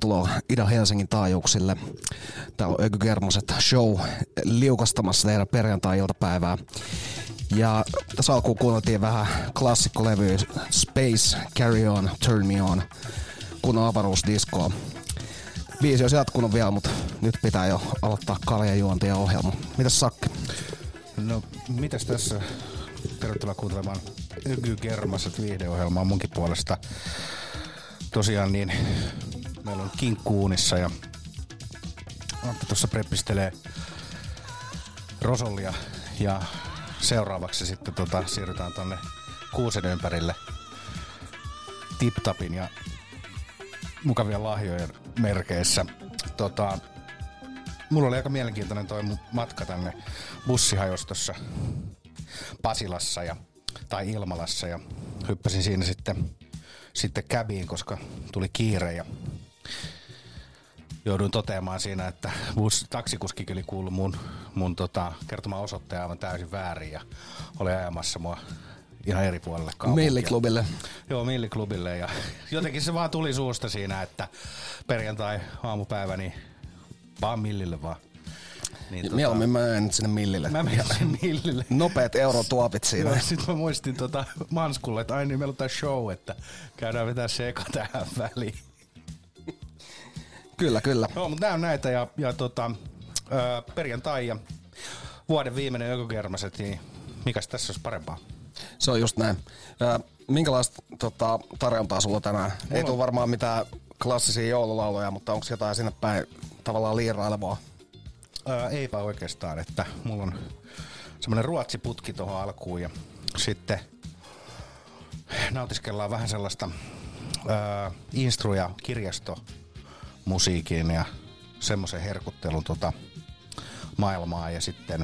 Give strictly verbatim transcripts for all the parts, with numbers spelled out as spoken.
Tervetuloa Ida-Helsingin taajuuksille. Täällä on Öky Germoset show liukastamassa teidän perjantai-iltapäivää. Ja tässä alkuun kuunneltiin vähän klassikkolevyä Space, Carry On, Turn Me On, kunnon avaruusdiskoa. Biisi olisi jatkunut vielä, mutta nyt pitää jo aloittaa kaljajuonti ja ohjelma. Mitäs Sakki? No, mitäs tässä? Tervetuloa kuuntelemaan Öky Germoset viihdeohjelmaa munkin puolesta. Tosiaan niin, meillä on kinkku uunissa ja Antti tuossa preppistelee rosollia ja seuraavaksi sitten tota, siirrytään tonne kuusen ympärille tip-tapin ja mukavien lahjojen merkeissä. Tota, mulla oli aika mielenkiintoinen toi matka tänne bussihajostossa Pasilassa ja, tai Ilmalassa ja hyppäsin siinä sitten sitten käbiin, koska tuli kiire ja jouduin toteamaan siinä, että bus, taksikuskikin oli kuullut mun, mun tota, kertomaan osoitteen aivan täysin väärin ja oli ajamassa mua ihan eri puolelle kaupunkia. Milliklubille. Joo, Milliklubille ja jotenkin se vaan tuli suusta siinä, että perjantai aamupäivä, niin vaan Millille vaan. Niin, tota, mieluummin mä menen nyt sinne Millille. Mä menen sinne Millille. Nopeat eurotuopit siinä. Joo, sit mä muistin tota Manskulle, että ai niin meillä on tää show, että käydään vetää se eka tähän väliin. Kyllä, kyllä. Joo, mutta nää on näitä ja, ja tota, ö, perjantai ja vuoden viimeinen Öky Germoset, niin mikäs tässä olisi parempaa? Se on just näin. Ja minkälaista tota, tarjontaa sulla tänään? Mulla ei tule varmaan mitään klassisia joululauluja, mutta onko jotain sinne päin tavallaan liirailevaa? Ää, eipä oikeastaan, että mulla on semmonen ruotsiputki tohon alkuun ja sitten nautiskellaan vähän sellaista ää, instru- ja kirjastomusiikin ja semmoisen herkuttelun tota maailmaa ja sitten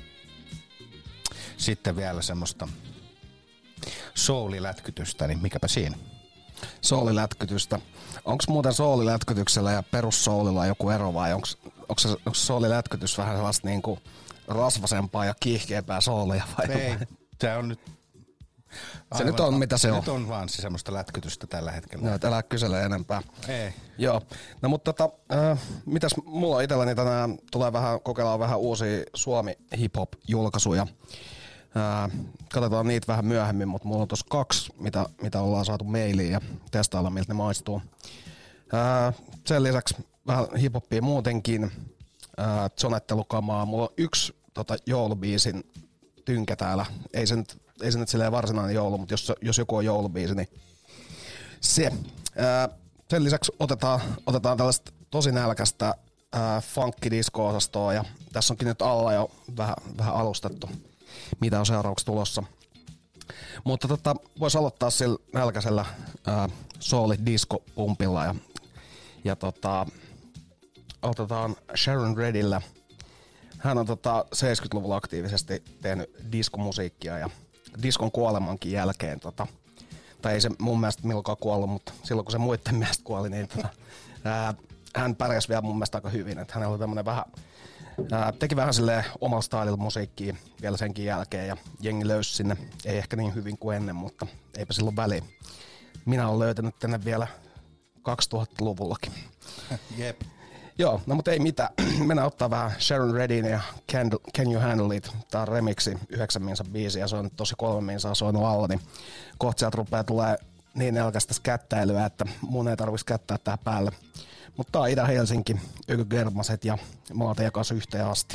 sitten vielä semmoista soulilätkytystä, niin mikäpä siinä? Soulilätkytystä. Onko muuten soulilätkytyksellä ja perussoulilla joku ero vai onko se, onko soulilätkytys vähän sellaista niinku rasvasempaa ja kiihkeämpää soulia vai? Ei, se on nyt se nyt on mitä se on. Nyt on vaan se semmoista lätkytystä tällä hetkellä. No, et älä kysele enempää. Ei. Joo. No mutta tota, äh, mitäs mulla on itselläni tänään tulee vähän, kokeillaan vähän uusia Suomi hip-hop-julkaisuja. Äh, katsotaan niitä vähän myöhemmin, mutta mulla on tossa kaksi, mitä, mitä ollaan saatu mailiin ja testailla, miltä ne maistuu. Äh, sen lisäksi vähän hip-hoppia muutenkin, äh, zonettelukamaa. Mulla on yksi tota, joulubiisin tynkä täällä. Ei se nyt, ei se nyt silleen varsinainen joulu, mutta jos, jos joku on joulubiisi, niin se. Äh, sen lisäksi otetaan, otetaan tällaista tosi nälkästä äh, funkki-disco-osastoa ja tässä onkin nyt alla jo vähän, vähän alustettu, mitä on seuraavaksi tulossa. Mutta tota, voisi aloittaa sillä nälkäisellä äh, souli-disco-pumpilla ja, ja tota, aloitetaan Sharon Redillä. Hän on tota, seitsemänkymmentäluvulla aktiivisesti tehnyt diskomusiikkia ja diskon kuolemankin jälkeen, tota, tai ei se mun mielestä milloinkaan kuollut, mutta silloin kun se muiden mielestä kuoli, niin tota, ää, hän pärjäsi vielä mun mielestä aika hyvin. Että hänellä oli tämmönen vähän, ää, teki vähän silleen omalla stylilla musiikkia vielä senkin jälkeen ja jengi löysi sinne, ei ehkä niin hyvin kuin ennen, mutta eipä silloin väliin. Minä olen löytänyt tänne vielä kaksituhattaluvullakin. Jep. Joo, no mutta ei mitään. Mennään ottaa vähän Sharon Redin ja Can, Can You Handle It. Tää on remixi, yhdeksän minsa biisi ja se on tosi kolme minsaa soinut alla, niin kohta sieltä rupeaa tulee niin nälkästä kättäilyä, että mun ei tarvitsisi kättää tähän päälle. Mutta tää on Ida-Helsinki, Öky Germoset ja mä oon teidän kanssa yhteen asti.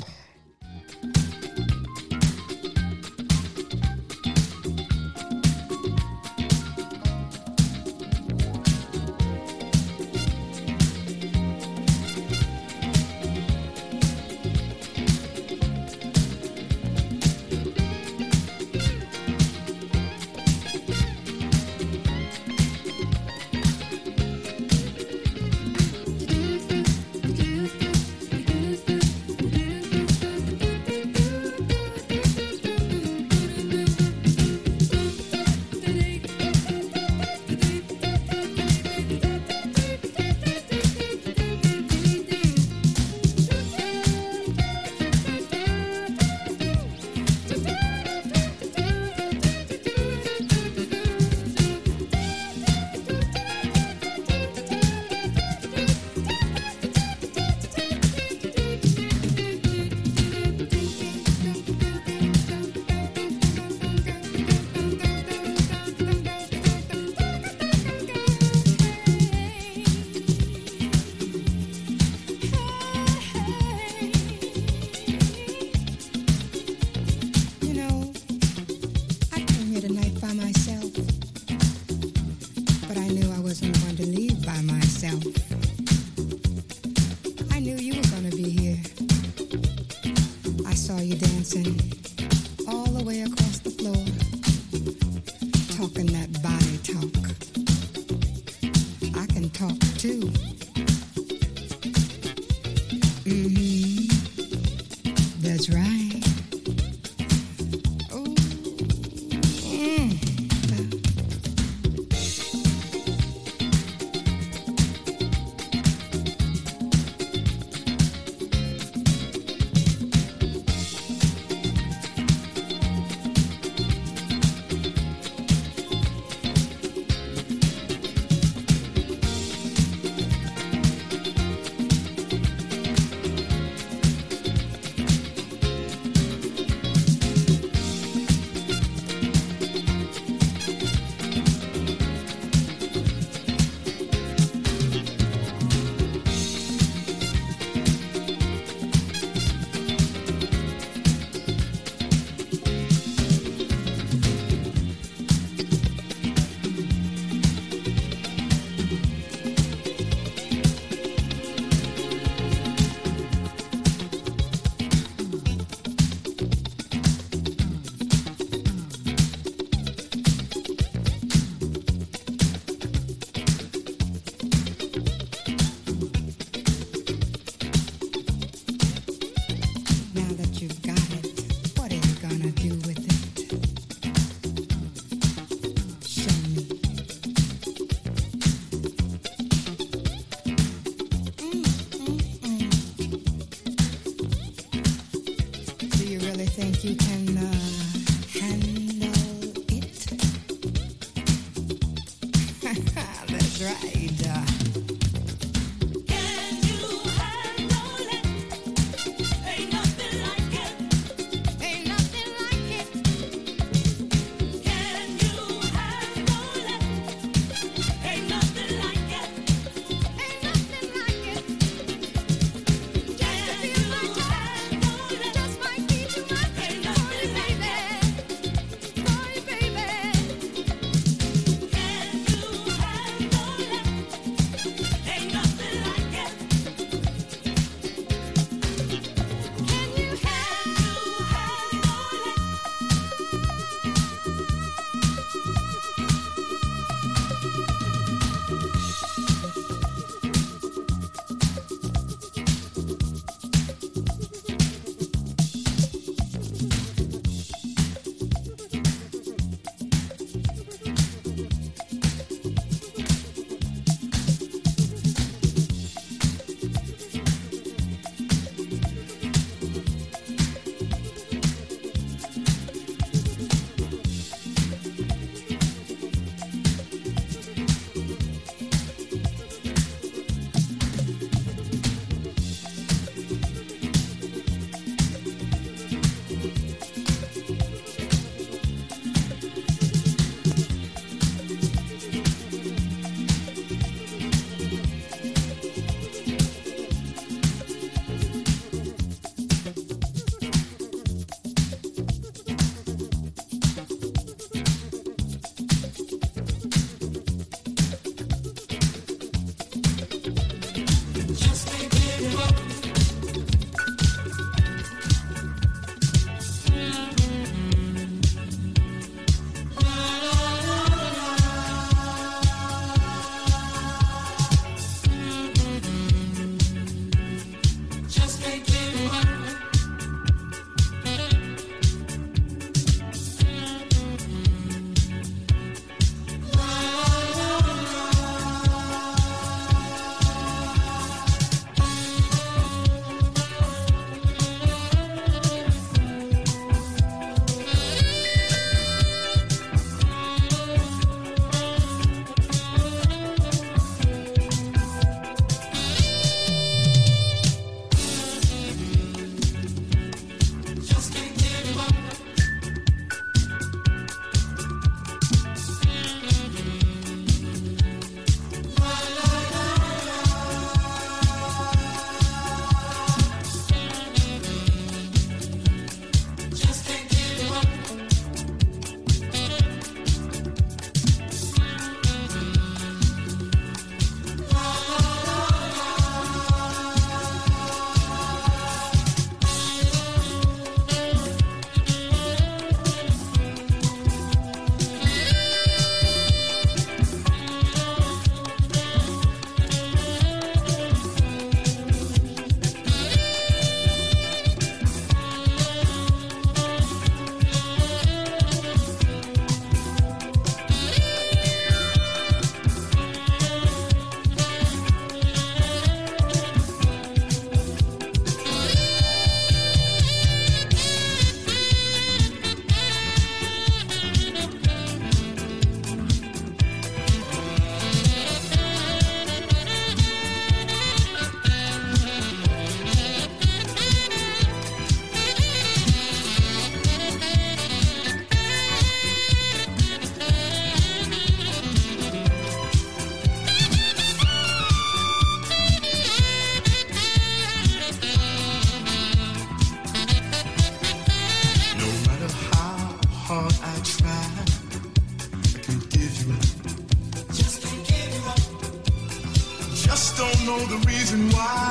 know the reason why.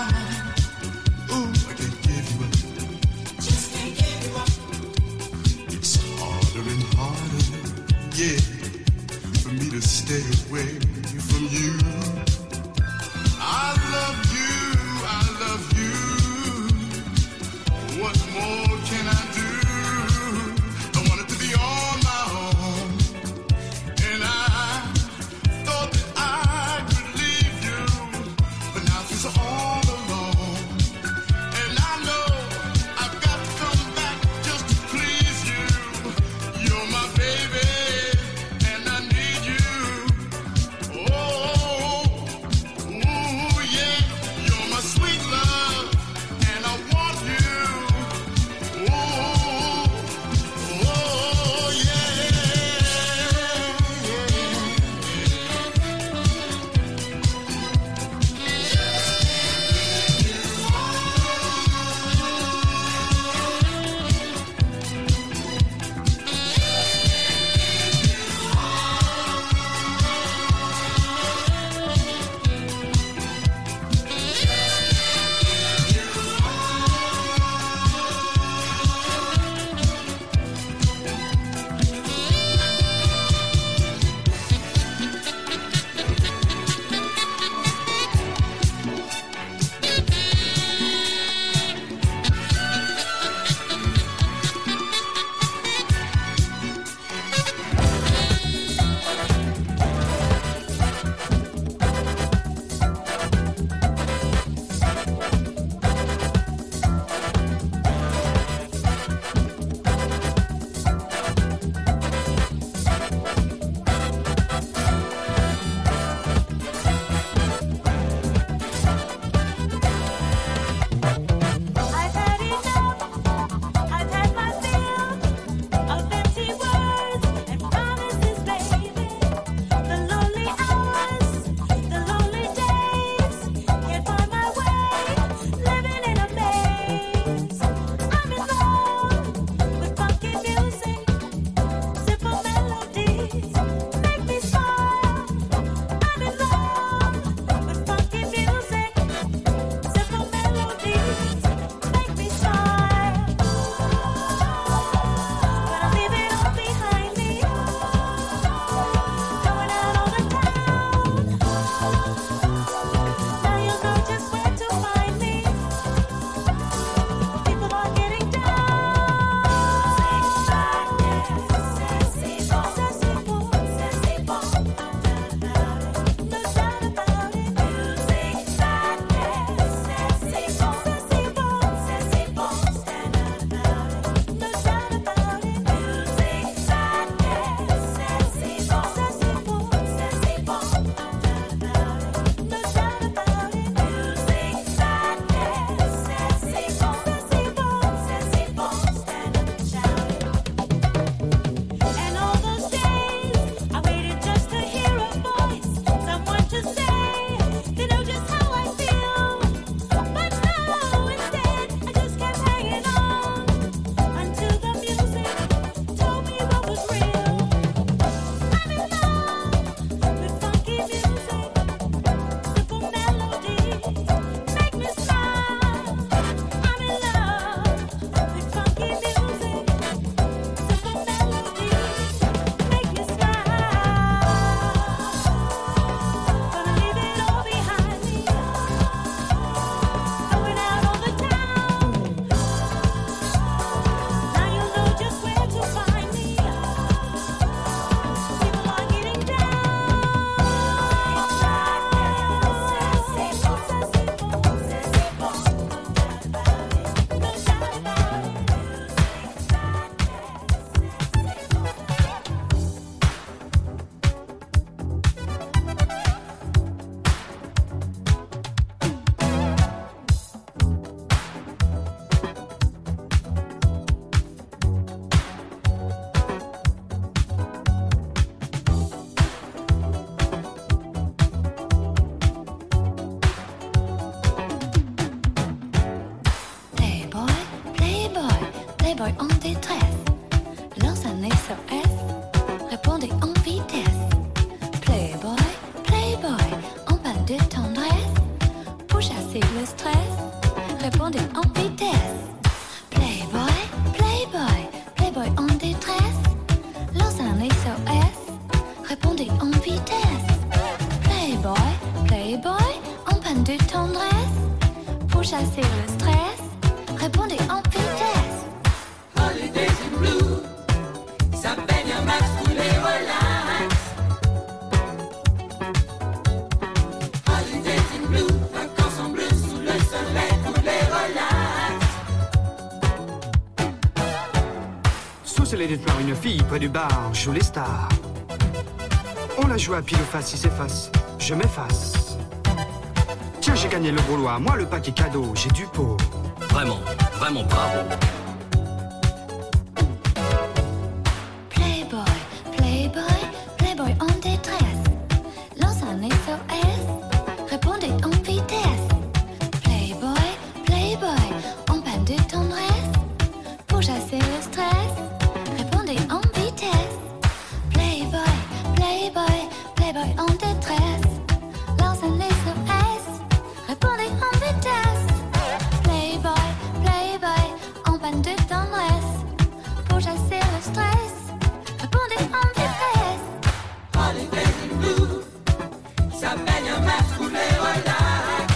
Ooh, I can't give you up. Just can't give you up. It's harder and harder, yeah, for me to stay away from you. I love you, I love you. What more can I do? I want it to be on my own. And I thought that I could leave you, but now she's all alone. And I know I've got to come back just to please you. You're my baby, and I need you. Oh, S O S, répondez en vitesse. Playboy, Playboy, en panne de tendresse. Pour chasser le stress, répondez en vitesse. Playboy, Playboy, Playboy en détresse. Lance un S O S, répondez en vitesse. Playboy, Playboy, en panne de tendresse. Pour chasser le stress, répondez en vitesse. Holidays in blue, ça baigne un max pour les relax. Holidays in blue, vacances en bleu sous le soleil pour les relax. Sous les détenir une fille près du bar, joue les stars. On la joue à pile ou face, si c'est face, je m'efface. Tiens, j'ai gagné le gros lot, moi le paquet cadeau, j'ai du pot. Vraiment, vraiment bravo. Playboy, Playboy, Playboy en détresse. Lance un S O S, répondez en vitesse. Playboy, Playboy, en panne de tendresse. Pour chasser le stress, répondez en vitesse. Playboy, Playboy, Playboy en détresse. Lance un S O S, répondez en vitesse. Playboy, Playboy, en panne de tendresse. Pour chasser le stress, répondez en vitesse. Holidays in blue, ça baigne un max pour les relax.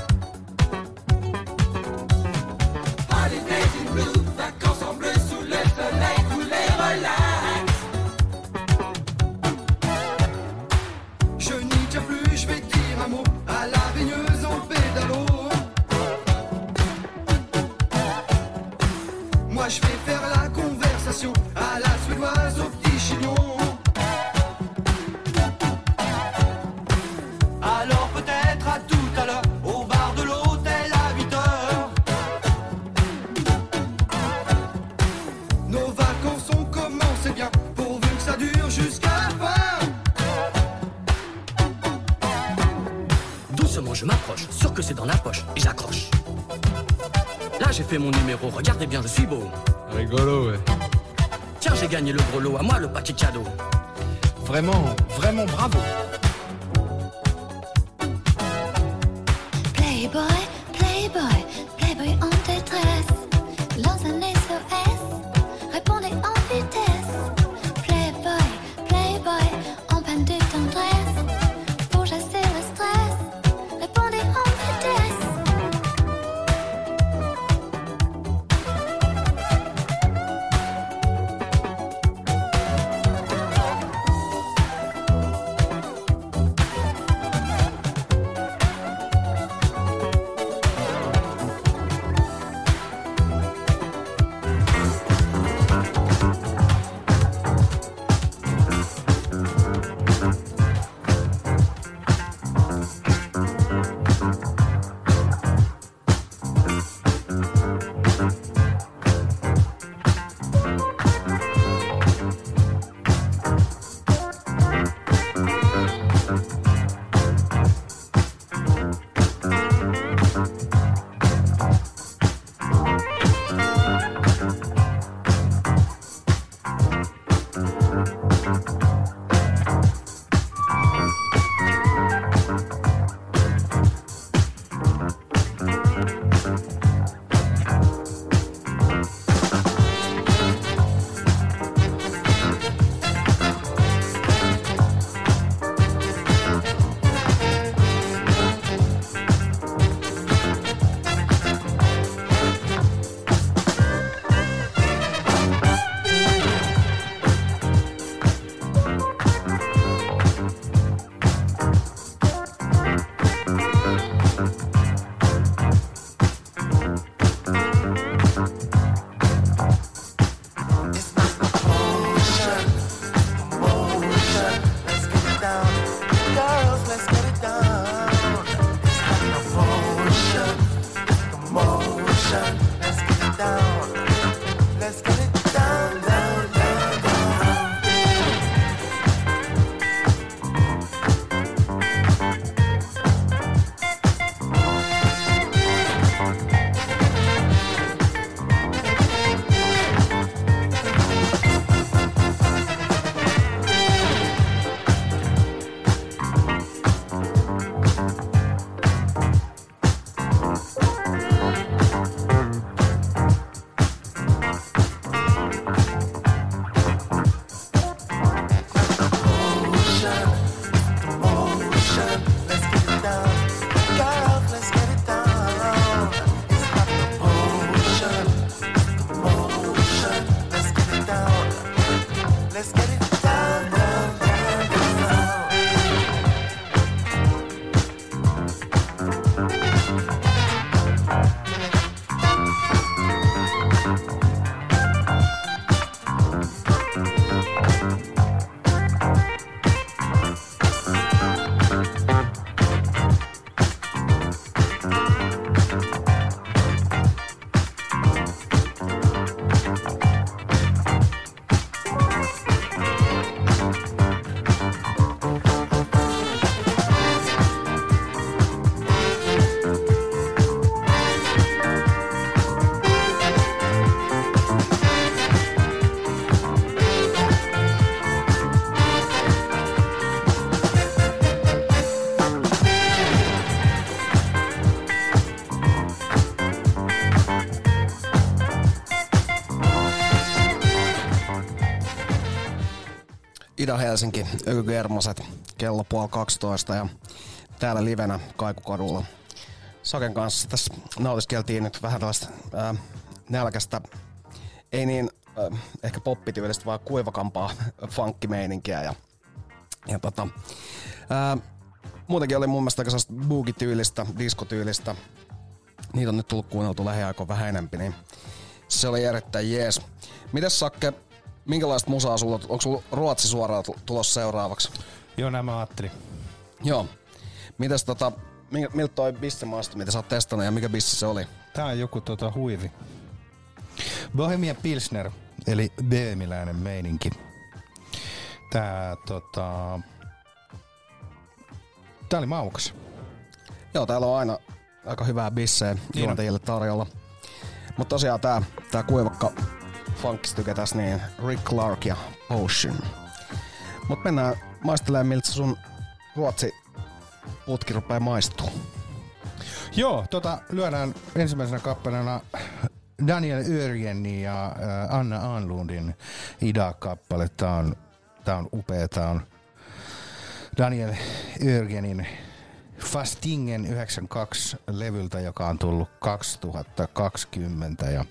Holidays in blue, vacances en bleu sous le soleil pour les relax. Je n'y tiens plus, je vais dire un mot à la baigneuse en pédalo. Moi je vais faire la conversation à la suédoise au petit chignon. Alors peut-être à tout à l'heure au bar de l'hôtel à huit heures. Nos vacances ont commencé bien, pourvu que ça dure jusqu'à la fin. Doucement, je m'approche, sûr que c'est dans la poche, et j'accroche. Là, j'ai fait mon numéro, regardez bien, je suis beau. Rigolo, ouais. Tiens, j'ai gagné le gros lot, à moi le paquet cadeau. Vraiment, vraiment bravo. Playboy, Playboy, Playboy en détresse. Lance un S O S, répondez en vitesse. Playboy, Playboy, en panne de tendresse. Pour chasser le stress, répondez en vitesse. Ida-Helsinki, Ökygermaset, kello puoli kaksitoista ja täällä livenä Kaikukadulla. Saken kanssa tässä nautiskeltiin nyt vähän tällaista ää, nälkästä, ei niin ää, ehkä poppityylistä, vaan kuivakampaa funkkimeininkiä ja, ja tota, ää, muutenkin oli mun mielestä aika sellaista boogie-tyylistä, diskotyylistä. Niitä on nyt tullut kuunneltu lähiaikoina vähän enempi, niin se oli erittäin jees. Mites Sakke, minkälaista musaa sulla, onko sulla Ruotsi suoraan tulossa seuraavaksi? Joo, näin mä ajattelin. Joo. Mites tota, miltä toi bisse maistui, mitä sä oot testannut ja mikä bisse se oli? Tää on joku tota huivi. Bohemia Pilsner, eli böömiläinen meininki. Tää tota... Tää oli maukas. Joo, täällä on aina aika hyvää bisseä juontajille tarjolla. Mutta tosiaan tää, tää kuivakka funkkistyke tässä, niin Rick Clark ja Ocean. Mut mennään maistelemaan, miltä sun Ruotsi putki rupee maistuu. Joo, tota lyödään ensimmäisenä kappaleena Daniel Örjeni ja äh, Anna Anlundin Ida-kappale. Tää on, tää on upea, tää on Daniel Örjenin Fastingen yhdeksänkymmentäkaksi levyltä, joka on tullut kaksituhattakaksikymmentä ja,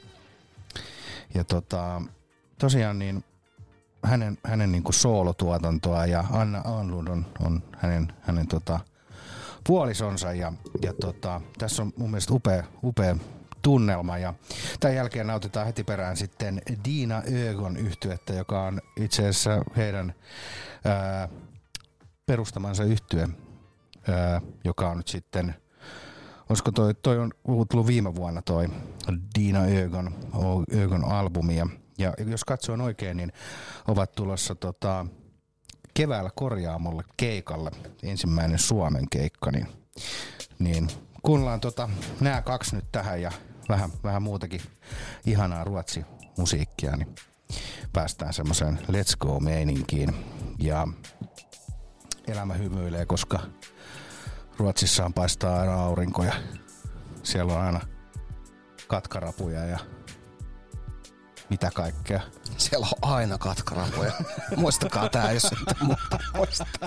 ja tota, tosiaan niin hänen, hänen niinku soolotuotantoa ja Anna Anlund on, on hänen, hänen tota puolisonsa ja, ja tota, tässä on mun mielestä upea, upea tunnelma ja tämän jälkeen nautitaan heti perään sitten Dina Ögon yhtyettä, joka on itse asiassa heidän ää, perustamansa yhtye, ää, joka on nyt sitten, olisiko toi, toi on tullut viime vuonna toi Dina Ögon, Ögon albumi ja, ja jos katsoin oikein, niin ovat tulossa tota, keväällä Korjaamolle keikalle, ensimmäinen Suomen keikka, niin, niin kuunnellaan tota, nämä kaksi nyt tähän ja vähän, vähän muutakin ihanaa ruotsi-musiikkia, niin päästään semmoiseen let's go-meininkiin. Ja elämä hymyilee, koska Ruotsissaan paistaa aina aurinko ja siellä on aina katkarapuja ja mitä kaikkea. Siellä on aina katkarapuja. Muistakaa tää, jos ette muuta muistaa.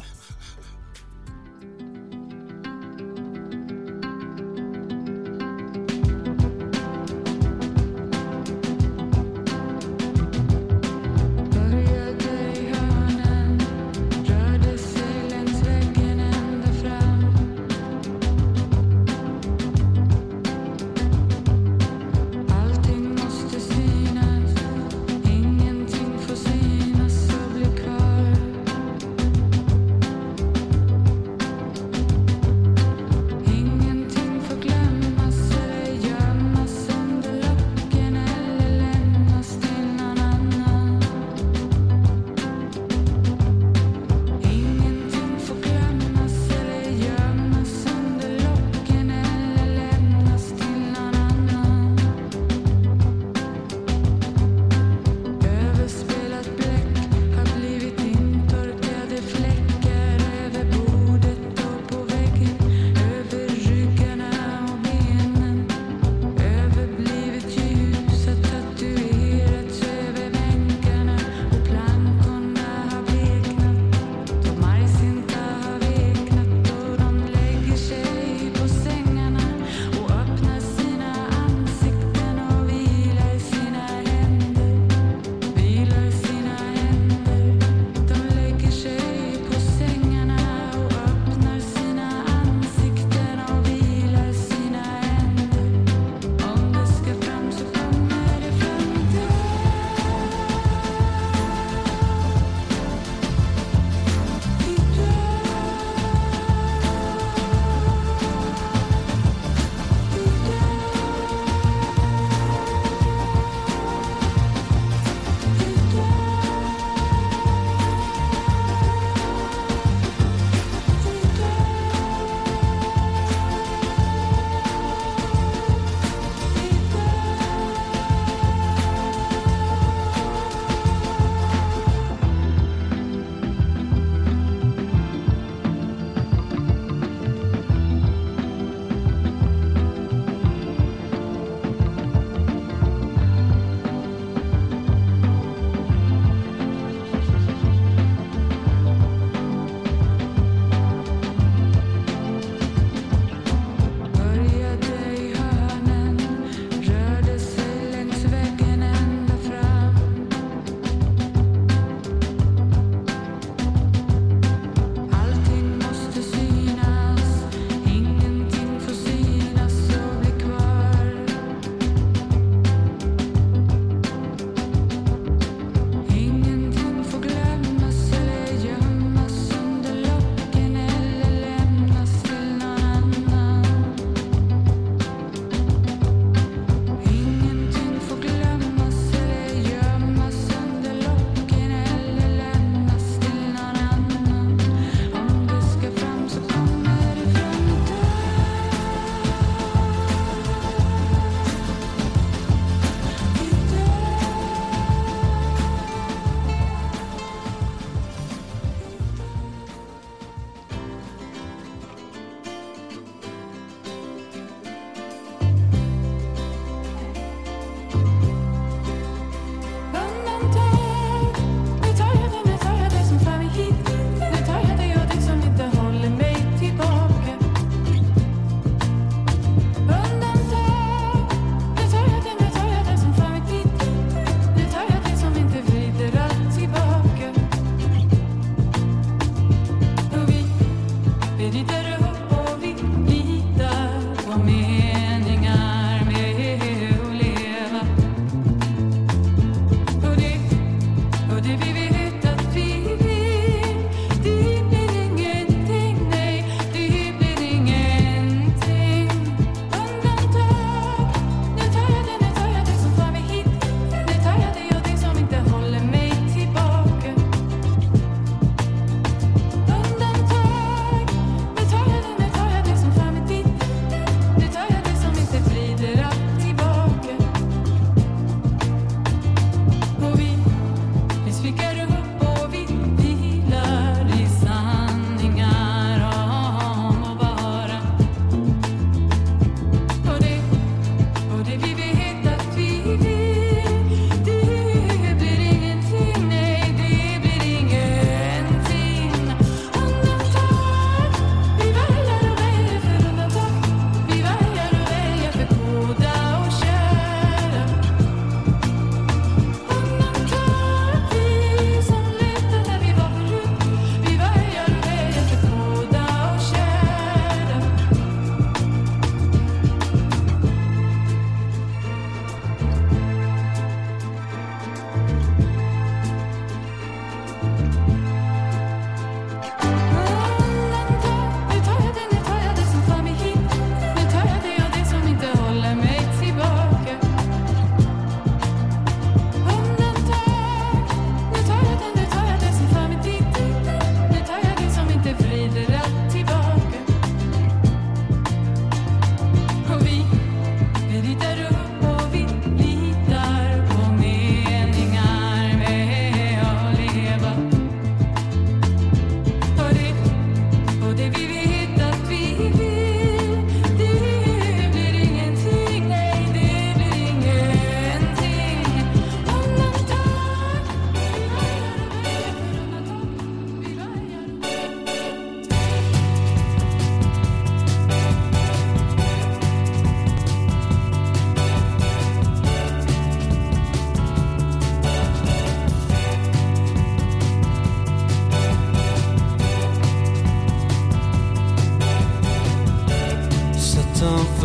Ingenting får synas och bli kvar.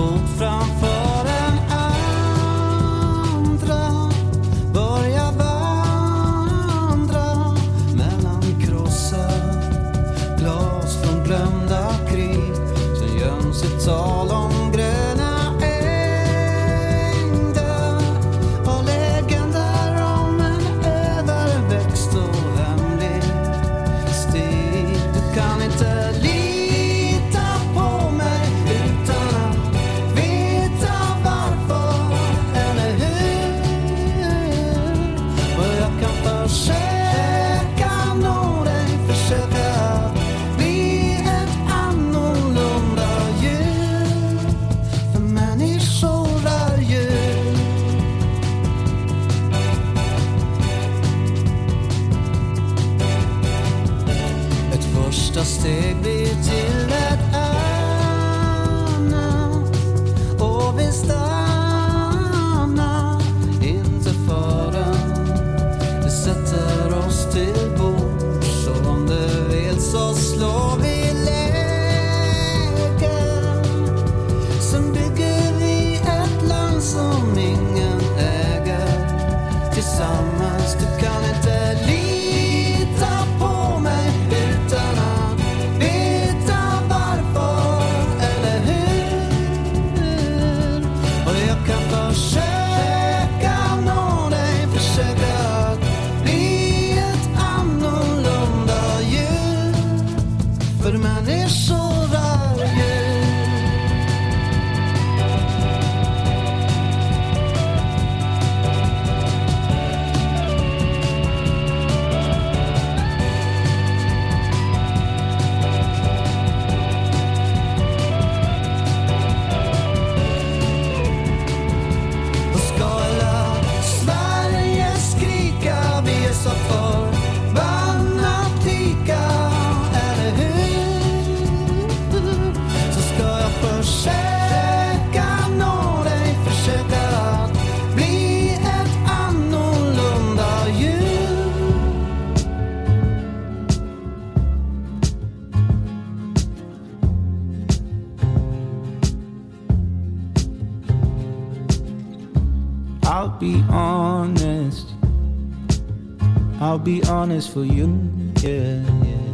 fot framför en andra, börja vandra mellan krossar, glas från glömda krig, som göms ett tal om gröna ängder och legender om en överväxt och hemlig stig. Du kan inte lita på mig utan att veta varför eller hur. Och jag kan försöka nå dig, försöka bli ett annorlunda djur, för människor är djur. Ett första steg blir till ett annat, och vi stannar inte förrän vi sätter oss till bords. Så om du vill så slår vi läger, sen bygger vi ett land som ingen äger tillsammans. Du kan inte lita på mig utan att veta varför eller hur. Och jag kan försöka nå dig, försöka bli ett annorlunda djur, för människor är djur. Och ska hela Sverige skrika, vi är så förbannat lika, eller hur? Så ska jag försöka nå dig, försöka bli ett annorlunda djur. I'll be honest, I'll be honest for you, yeah, yeah,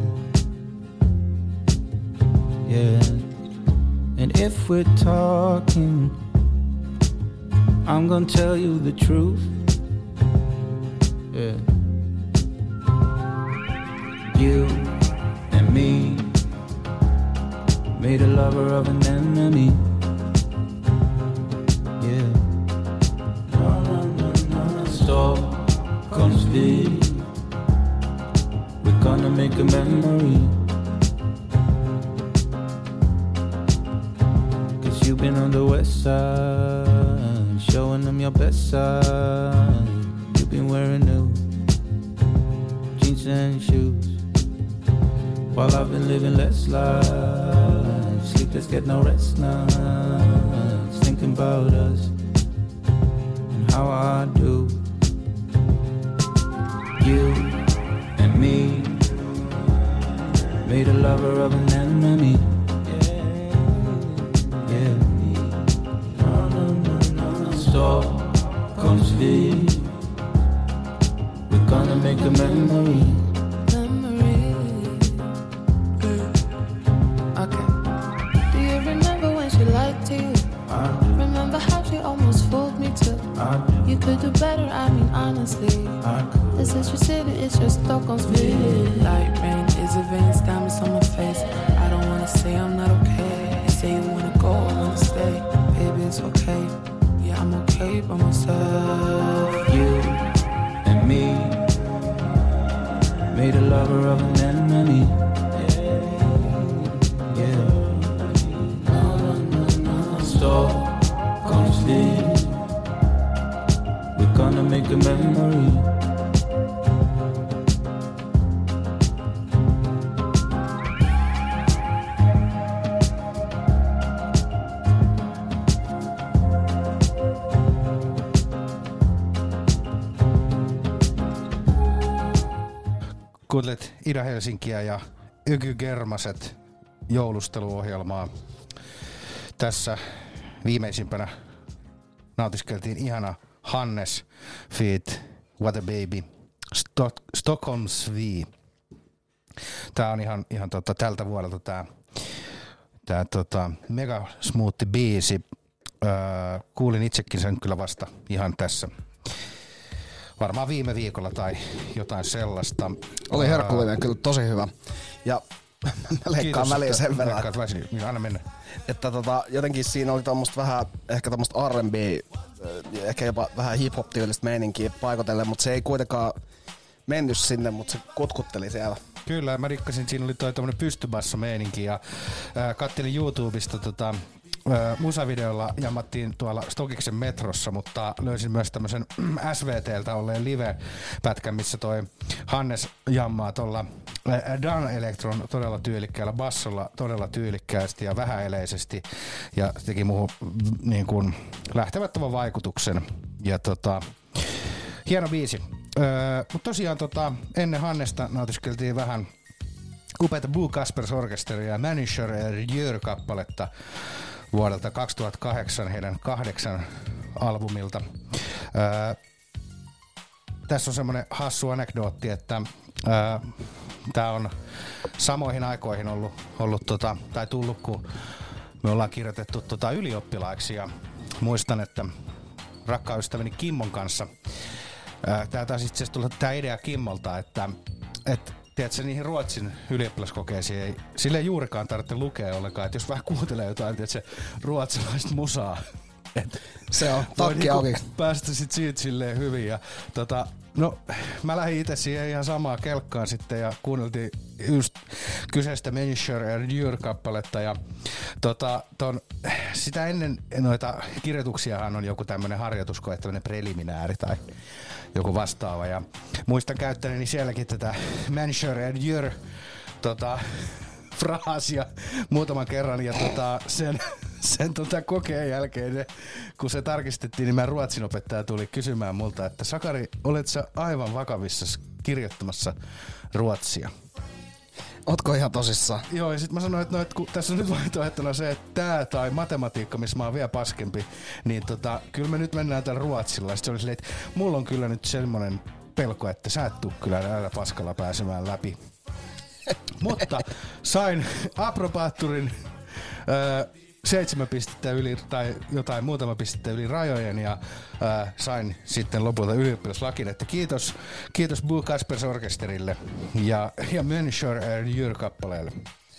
yeah. And if we're talking, I'm gonna tell you the truth, yeah. You and me made a lover of an enemy, yeah. Stockholms vi, we're gonna make a memory, 'cause you've been on the west side, showing them your best side. You've been wearing new jeans and shoes, while I've been living less life, sleepless, get no rest nights, thinking about us and how I do. You and me made a lover of an enemy, yeah. Stockholms vi, we're gonna make a memory. Memory. Okay. Do you remember when she lied to you? I do, Remember how she almost fooled me too? I do, You could do better, I mean honestly. I could. This is your city, it's your Stockholm's view. Light rain is a veins, diamonds on my face. I don't wanna say I'm not okay. You say you wanna go, I wanna stay. Baby, it's okay. Yeah, I'm okay by myself. You and me made a lover of an enemy, yeah. Stockholms vi, we're gonna make a memory. Kuuntelet Ida-Helsinkiä ja Yky Germaset joulusteluohjelmaa tässä viimeisimpänä nautiskeltiin ihana Hannes feat. What a Baby, Stock, Stockholm Svee. Tää on ihan, ihan tota, tältä vuodelta tää, tää tota, mega smoothi biisi. Öö, kuulin itsekin sen kyllä vasta ihan tässä. Varmaan viime viikolla tai jotain sellaista. Oli herkullinen, öö, kyllä tosi hyvä. Ja mä leikkaan väliin sen verran. Leikkaat väliin, niin anna mennä. Että tota, jotenkin siinä oli tommoista vähän, ehkä tommoista R and B, ehkä jopa vähän hip-hop-tyylistä meininkiä paikotellen, mutta se ei kuitenkaan mennyt sinne, mutta se kutkutteli siellä. Kyllä, mä rikkasin, siinä oli toi tommonen pystybasso-meininki ja äh, kattelin YouTubesta tota, äh, musavideolla jammattiin tuolla Stokiksen metrossa, mutta löysin myös tämmösen S V T:ltä olleen live-pätkän, missä toi Hannes jammaa tuolla äh, Dan Electron todella tyylikkäällä bassolla, todella tyylikkäästi ja vähäeleisesti ja se teki muuhun niin kuin lähtemättömän vaikutuksen ja tota, hieno biisi. Öö, mutta tosiaan tota, ennen Hannesta nautiskeltiin vähän upeita Boo Kaspers Orkesteria ja Manager Jör-kappaletta vuodelta kaksituhattakahdeksan heidän kahdeksan albumilta. Öö, tässä on semmoinen hassu anekdootti, että öö, tää on samoihin aikoihin ollut, ollut tota, tai tullut, kun me ollaan kirjoitettu tota ylioppilaiksi ja muistan, että rakkaan ystäväni Kimmon kanssa Tää taas itse asiassa tullut tää idea Kimmolta, että et, tiedätkö, niihin Ruotsin ylioppilaskokeisiin ei sille juurikaan tarvitse lukea ollenkaan, että jos vähän kuuntelee jotain, tiedätkö, ruotsalaista musaa, et se on takki auki. Niinku päästä sit siitä silleen hyvin ja tota, no mä lähdin itse siihen ihan samaa kelkkaan sitten ja kuunneltiin just kyseistä Manager Jör-kappaletta ja tota, ton, sitä ennen noita kirjoituksiahan on joku tämmönen harjoituskoe, tämmönen preliminääri tai joku vastaava ja muistan käyttäneeni sielläkin tätä Manager Jör tota, fraasia muutaman kerran ja tota, sen, sen tota kokeen jälkeen, ne, kun se tarkistettiin, niin mä ruotsinopettaja tuli kysymään multa, että Sakari, olet sä aivan vakavissa kirjoittamassa ruotsia? Ootko ihan tosissaan? Joo, ja sit mä sanoin, että, no, että kun tässä on nyt vaihtoehtona se, että tää tai matematiikka, missä mä oon vielä paskempi, niin tota, kyllä me nyt mennään tällä ruotsilla. Sitten se oli silleen, että mulla on kyllä nyt semmonen pelko, että sä et tuu kyllä näillä paskalla pääsemään läpi. Mutta sain aprobaattorin öö, seitsemän pistettä yli tai jotain muutama pistettä yli rajojen ja öö, sain sitten lopulta ylioppilaslakin, että kiitos, kiitos Boo Kaspers Orkesterille ja, ja Manager Jör-kappaleelle.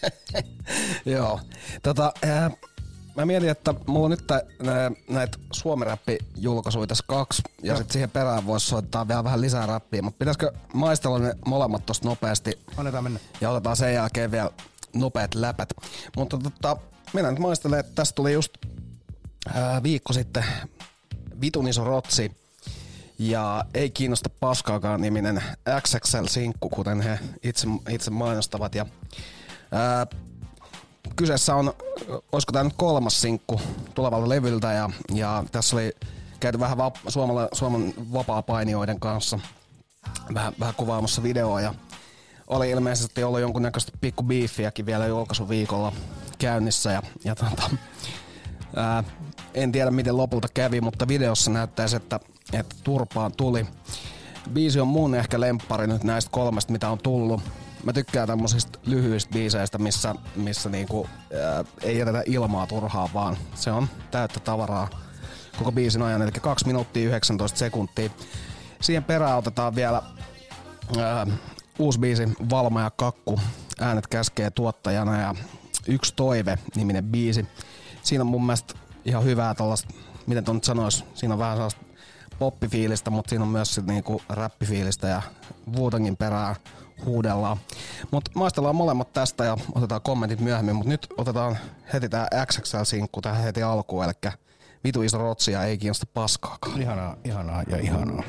Joo, tota, äh, mä mietin, että mulla on nyt tä, nä, näitä suomi-räppi-julkaisuja tässä kaksi ja no. Sitten siihen perään voisi soittaa vielä vähän lisää räppiä, mutta pitäisikö maistella ne molemmat tosta nopeasti? Annetaan mennä. Ja otetaan sen jälkeen vielä nopeat läpät. Mutta tota, minä nyt maistelen, että tästä tuli just ää, viikko sitten vitun iso rotsi ja ei kiinnosta paskaakaan niminen X X L-sinkku, kuten he itse, itse mainostavat. Ja, ää, kyseessä on, olisiko tämä nyt kolmas sinkku tulevalta levyltä ja, ja tässä oli käyty vähän va- Suomala, Suomen vapaa-painijoiden kanssa vähän, vähän kuvaamassa videoa ja oli ilmeisesti ollut jonkunnäköistä pikku biifiäkin vielä julkaisuviikolla käynnissä ja, ja tota, ää, en tiedä miten lopulta kävi, mutta videossa näyttäisi, että, että turpaan tuli. Biisi on mun ehkä lemppari nyt näistä kolmesta, mitä on tullut. Mä tykkään tämmöisistä lyhyistä biiseistä, missä, missä niinku, ää, ei jätetä ilmaa turhaa, vaan se on täyttä tavaraa koko biisin ajan, eli kaksi minuuttia yhdeksäntoista sekuntia. Siihen perään otetaan vielä ää, uusi biisi Valma ja Kakku, äänet käskee tuottajana ja Yksi toive-niminen biisi. Siinä on mun mielestä ihan hyvää tollaista, miten ton nyt sanois, siinä on vähän sellaista poppifiilistä, mutta siinä on myös sit niinku räppifiilistä ja Wu-Tangin perään huudellaan. Mut maistellaan molemmat tästä ja otetaan kommentit myöhemmin, mut nyt otetaan heti tää X X L-sinkku tähän heti alkuun, elikkä vitu iso rotsi ja ei kiinnosta paskaakaan. Ihanaa, ihanaa ja ihanaa.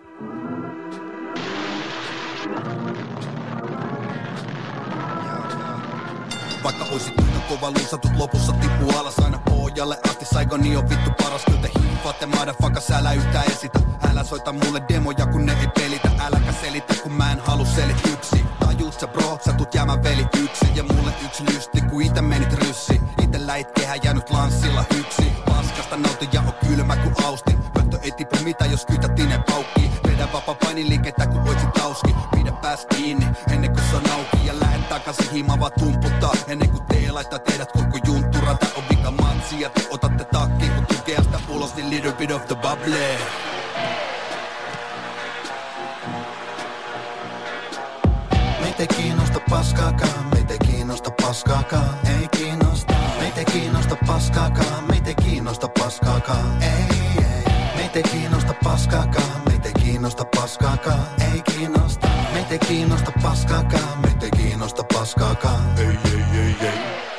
Vaikka oisit yhtä kova luusatut lopussa tippuu alas aina pohjalle asti. Saigoni on vittu paras, kyllä te hiffaatte motherfuckers, älä yhtään esitä. Älä soita mulle demoja kun ne ei pelitä. Äläkä selitä kun mä en halu selityksi. Tajuut sä bro, sä tuut jäämään veli yksi. Ja mulle yksi lysti kun ite menit ryssi. Itellä it kehä jäänyt lanssilla yksi. Paska Mitä jos kytätinen paukkii? Vedä vapaa painiliikettä kun oitsit tauski. Pidä pääs kiinni ennen kuin se on auki. Ja lähet takaisin himaa vaan tumputtaa. Ennen kuin tee laittaa teidät koko junttura. Tää on vika matsi ja te otatte takkiin. Kun tukea sitä ulos niin little bit of the bubble. Meitä ei kiinnosta paskaakaan, meitä ei kiinnosta paskaakaan, ei kiinnosta. Meitä ei kiinnosta paskaakaan, meitä ei kiinnosta paskaakaan, ei, ei. Meitä ei kiinnosta paskaakaan, meitä ei kiinnosta paskaakaan, ei kiinnosta. Meitä ei kiinnosta paskaakaan, meitä ei kiinnosta paskaakaan, ei, ei, ei, ei.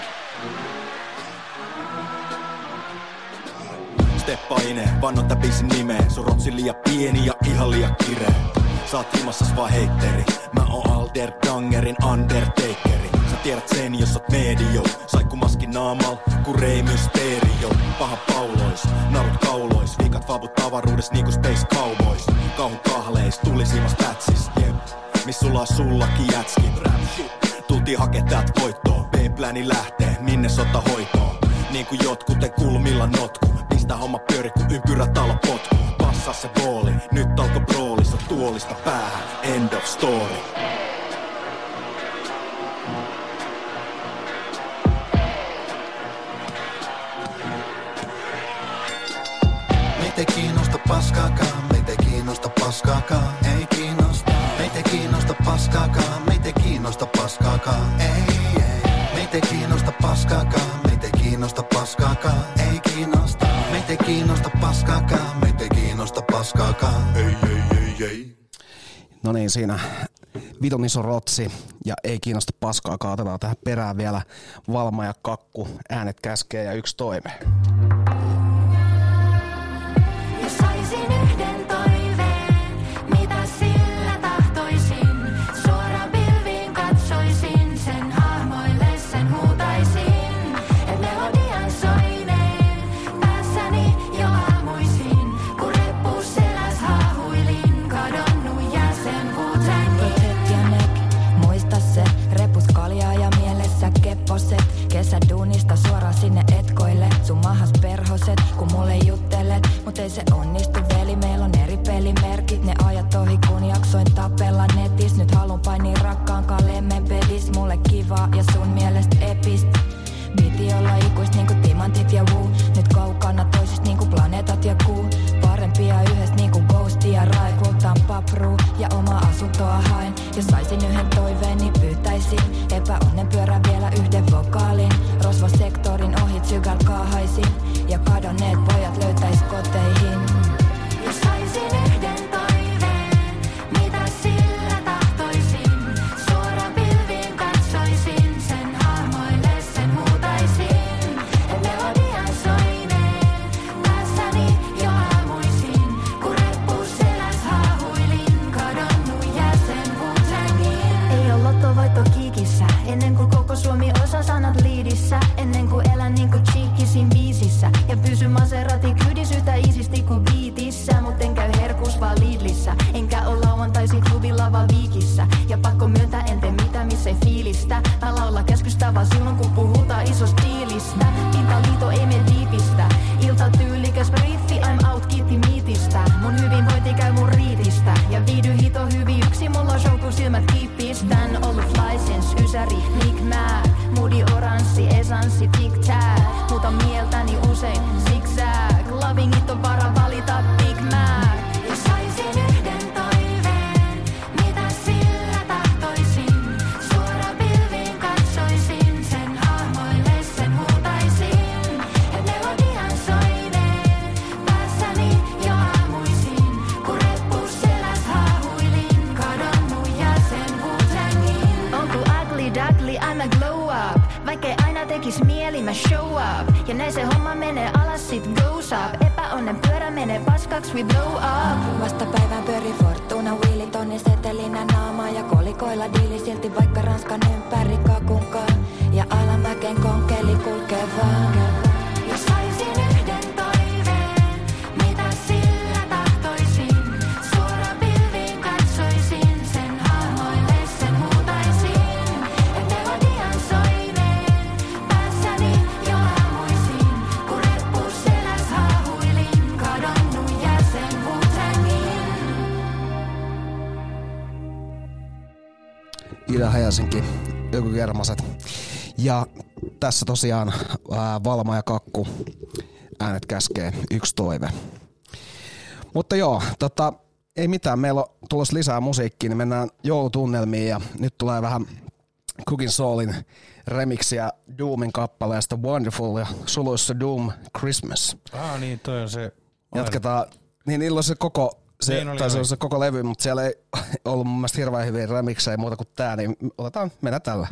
Steppaine, vannot tää biisin nimeen. Sun rotsi liian pieni ja ihan liian kireä. Sä oot ilmassas vaan heitteri. Mä oon Alder Dangerin Undertakeri. Sä tiedät sen, jos oot medio. Saikkumaskin naamal, ku Rey Mysterio. Paha paulois, narut kaulois. Viikat vavut avaruudes niinku Space Cowboys. Kauhun kahleis, tulisiimas pätsis, jep. Miss sulla on sullakin jätski. Tultiin hakee täältä voittoa. B-pläni lähtee, minne sota hoitoon. Niinku jotkuten kulmilla notku. Pistä homma pyöri kun ympyrä talo potku. Passaa se booli, nyt alko broolissa. Tuolista päähän, end of story. Meitä ei kiinnosta paskaakaan, meitä ei kiinnosta paskaakaan, ei kiinnosta. Meitä ei kiinnosta paskaakaan, meitä ei kiinnosta paskaakaan, ei, ei. Meitä ei kiinnosta paskaakaan, meitä ei kiinnosta paskaakaan, ei kiinnosta. Meitä ei kiinnosta paskaakaan, meitä ei kiinnosta paskaakaan, ei, ei, ei, ei. No niin, siinä vitun iso rotsi ja ei kiinnosta paskaakaan. Otetaan tähän perään vielä Valma ja Kakku, äänet käskee ja yksi toime. Jos saisin yhden toiveen, mitä sillä tahtoisin, suoraan pilviin katsoisin, sen hahmoille sen huutaisin, et melodian soineen, päässäni jo aamuisin, kun reppu seläs haahuilin, kadonnut jäsen Wu-Tangin. Ja nek, muista se, repus kaljaa ja mielessä kepposet, kesäduunista suoraan sinne etkoille, sun mahas perhoset, kun mulle juttelet, mut ei se onnistu veli, meillä on eri pelimerkit, ne ajat ohi kun jaksoin tapella netis, nyt halun painii rakkaan kalemme bedis, mulle kivaa ja sun mielestä epist. Piti olla ikuist niinku timantit ja woo, nyt kaukana toisist niinku planeetat ja kuu, parempia yhdessä niinku Ghost ja Rai, kultaan papruu ja oma asuntoa haen, jos saisin yhden toiveen niin pyytäisin, epäonnen pyörän vielä yhden vokaalin, rosvosektorin ohi sykäl kaahaisin, ja kadonneet pojat löytäis koteihin. Jos saisin yhden toiveen, mitä sillä tahtoisin, suoraan pilviin katsoisin, sen hahmoille sen huutaisin, et melodian soineen, päässäni jo aamuisin, kun reppu seläs haahuilin, kadonnut jäsen Wu-Tangin. Ei oo lottovoitto kiikissä, ennen kuin koko Suomi osaa sanat liidissä, ennen kuin elän niinku Cheekisin biisissä, ja pysy Maserati kyydis yhtä iisisti kuin biitissä, mut en käy herkus vaan Lidlissä, enkä oo lauantaisin klubilla vaan Viikissä, ja pakko myöntää en tee mitä missä ei fiilistä, mä laula käskystä vaan silloin kun puhutaan isosta diilistä, pintaliito ei mene diipistä, ilta tyylikäs briefi, I'm out kiitti miitistä, mun hyvinvointi käy mun riitistä, ja viidy hito hyvin yksi, mulla on show kun silmät kiippistän, ollut fly sense, ysäri, Nick Mac, moodi oranssi, esanssi, tic tac, muuta mieltäni usein zigzag, lovingit on vara valita Big Mac. Jos saisin yhden toiveen, mitä sillä tahtoisin, suoraan pilviin katsoisin, sen hahmoille sen huutaisin, et melodian soineen, päässäni jo aamuisin, kun reppu seläs haahuilin, kadonnut jäsen Wu-Tangin. On ku ugly duckly, I'm a glow up, vaikkei aina tekis mieli mä show up, ja näin se homma menee alas sit goes up, epäonnen pyörä menee paskaks we blow up. Vastapäivän pyöri Fortuna, Wheelit tonni setelinä naamaa ja kolikoilla diili silti vaikka Ranskan ympäri kakunkaan, ja alamäkeen konkeli kulkee vaan. Jos saisin yhden toiveen, mitä sillä tahtoisin, suoraan pilviin katsoisin, sen hahmoille sen huutaisin, et melodian soineen, päässäni jo aamuisin, kun reppu seläs haahuilin, kadonnut jäsen Wu-Tangin. Helsinki, joku Kermaset. Ja tässä tosiaan ää, Valma ja Kakku, äänet käskee, yksi toive. Mutta joo, tota, ei mitään, meillä on tulossa lisää musiikkia, niin mennään joulutunnelmiin ja nyt tulee vähän Cooking Soulin remixiä Doomin kappaleesta Wonderful ja suluissa Doom Christmas. Ah niin, toi on se. Jatketaan, niin niillä on se koko, se, niin oli, tai se oli. on se koko levy, mutta siellä ei ollut mun mielestä hirveän hyviä remiksejä muuta kuin tää, niin otetaan, mennään tällä.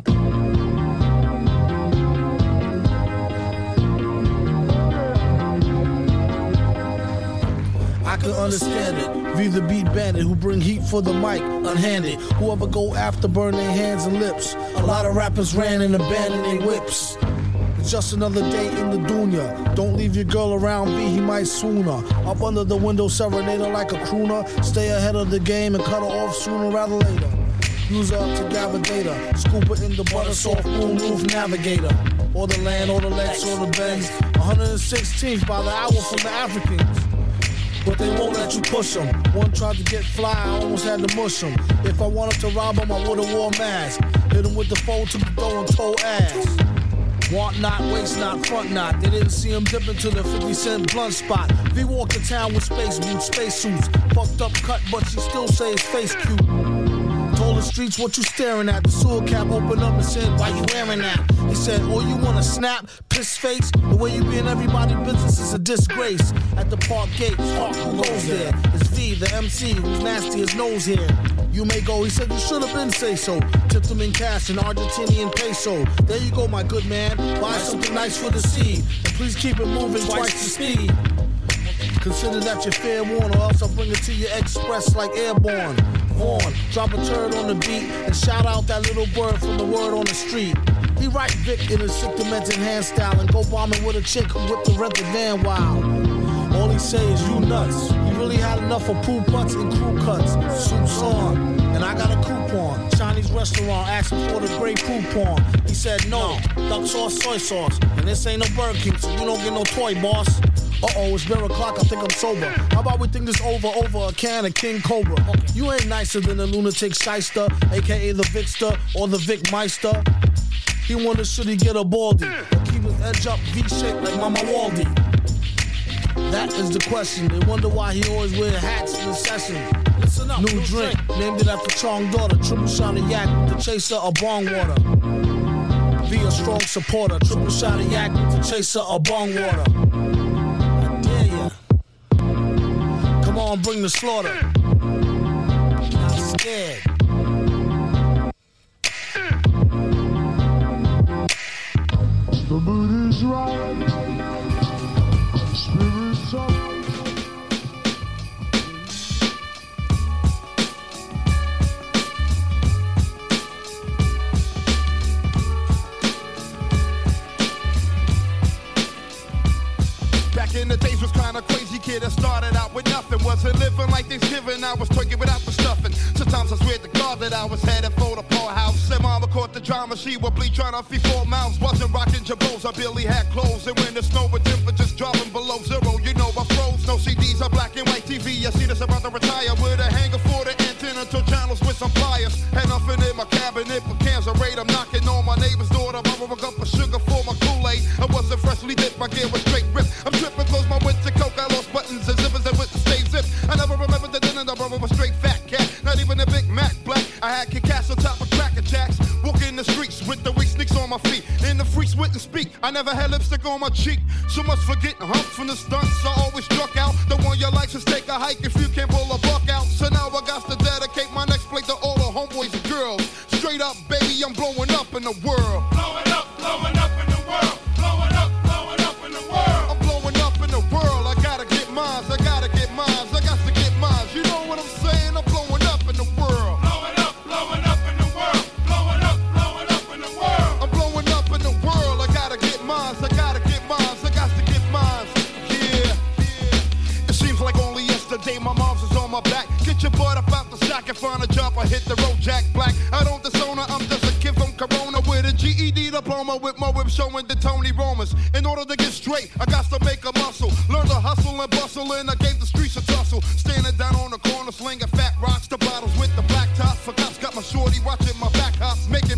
I can understand it. Be the beat bandit who bring heat for the mic, unhanded. Whoever go after burn their hands and lips. A lot of rappers ran and abandoned their whips. It's just another day in the dunya. Don't leave your girl around B, he might swoon her. Up under the window, serenade her like a crooner. Stay ahead of the game and cut her off sooner rather later. Use her up to Gavadator. Scoop her in the butter soft moon roof navigator. Or the land, or the Lex, or the Benz. one hundred sixteenth by the hour from the Africans. But they won't let you push them. One tried to get fly, I almost had to mush him. If I wanted to rob him, I would've wore a mask. Hit him with the phone, took the dough and told ass. Want not, waste not, front not. They didn't see him dip into the fifty cent blunt spot. V walked to town with space boots, space suits. Fucked up cut, but she still say his face cute. Told the streets what you staring at. The sewer cap opened up and said, why you wearing that? He said, oh, you wanna snap? Piss face? The way you be in everybody's business is a disgrace. At the park gate, Hawk, who goes there? It's V, the M C, who's nasty as nose hair. You may go, he said, you should have been say so. Tipped him in cash in Argentinian peso. There you go, my good man. Buy something nice for the seed. And please keep it moving twice the speed. Consider that your fair warn, or else I'll bring it to you express like airborne. Horn, drop a turd on the beat and shout out that little bird from the word on the street. He write Vic in a sick demented hand style and go bombing with a chick who whipped the rented van wild. All he say is you nuts. He really had enough of poo butts and crew cuts. Soup's on, and I got a coupon. Chinese restaurant asking for the great coupon. He said no, duck sauce, soy sauce. And this ain't no Burger King, so you don't get no toy, boss. Uh-oh, it's barrel o'clock, I think I'm sober. How about we think this over over a can of King Cobra? Okay. You ain't nicer than the lunatic shyster, a k a the Vicster or the Vic Meister. He wonders should he get a baldy or keep his edge up V-shaped like Mama Waldy. That is the question. They wonder why he always wear hats in the session. Listen up, new drink, named it after Chong daughter. Triple shot of yak with the chaser of bong water. Be a strong supporter. Triple shot of yak with the chaser of bong water. Come on, bring the slaughter. Not scared. The mood is right. Spirits up. Back in the days was kinda crazy kid that started out with nothing. Wasn't living like Thanksgiving, I was twerking without the stuffing. Sometimes I swear to God that I was headed for the poorhouse. Said mama caught the drama, she would bleed trying to feed four mouths. Wasn't rocking jabos, I barely had clothes. And when the snow with temperatures dropping below zero, you know I froze. No C Ds, a black and white T V. I see this about to retire with a hanger for the antenna to channels with some pliers. Had nothing in my cabinet but cans of raid. I'm knocking on my neighbor's door to borrow a cup of sugar for my Kool-Aid. I wasn't freshly dipped, my gear was straight ripped. I'm tripping, close my winter coke, I lost buttons and zippers that wouldn't stay zipped. I never remembered the dinner, the brother was straight fat cat. Not even a Big Mac black. I had Kit Kats on top of Cracker Jacks. Walking the streets with the weak sneaks on my feet. And the freaks wouldn't speak. I never had lipstick on my cheek. So much for getting humped from the stunts. I always struck out. The one you like is take a hike if you can't pull a buck out. So now I got to dedicate my next plate to all the homeboys and girls. Straight up, baby, I'm blowing up in the world. Blowing up, blowing up in the world. Blowing up, blowing up in the world. I'm blowing up in the world. I gotta get mines. I gotta get mines. I got to get mines. You know what I'm saying? I'm blowing up in the world. Blowing up, blowing up in the world. Blowing up, blowing up in the world. I'm blowing up in the world. I gotta get mines. I gotta get mines. I got to get mines. Yeah, yeah. It seems like only yesterday my mom's was on my back. Get your butt up out the sack and find a job. I hit the road, Jack Black. I don't disown her. I'm just a kid from Corona with a G E D diploma with my whip showing the Tony Romans. In order to get straight, I got to make a muscle. Learn to hustle and bustle, and I gave the streets a tussle. Standing down on the corner, slinging fat rocks, the bottles with the black tops. For cops got my shorty watching my back hops, making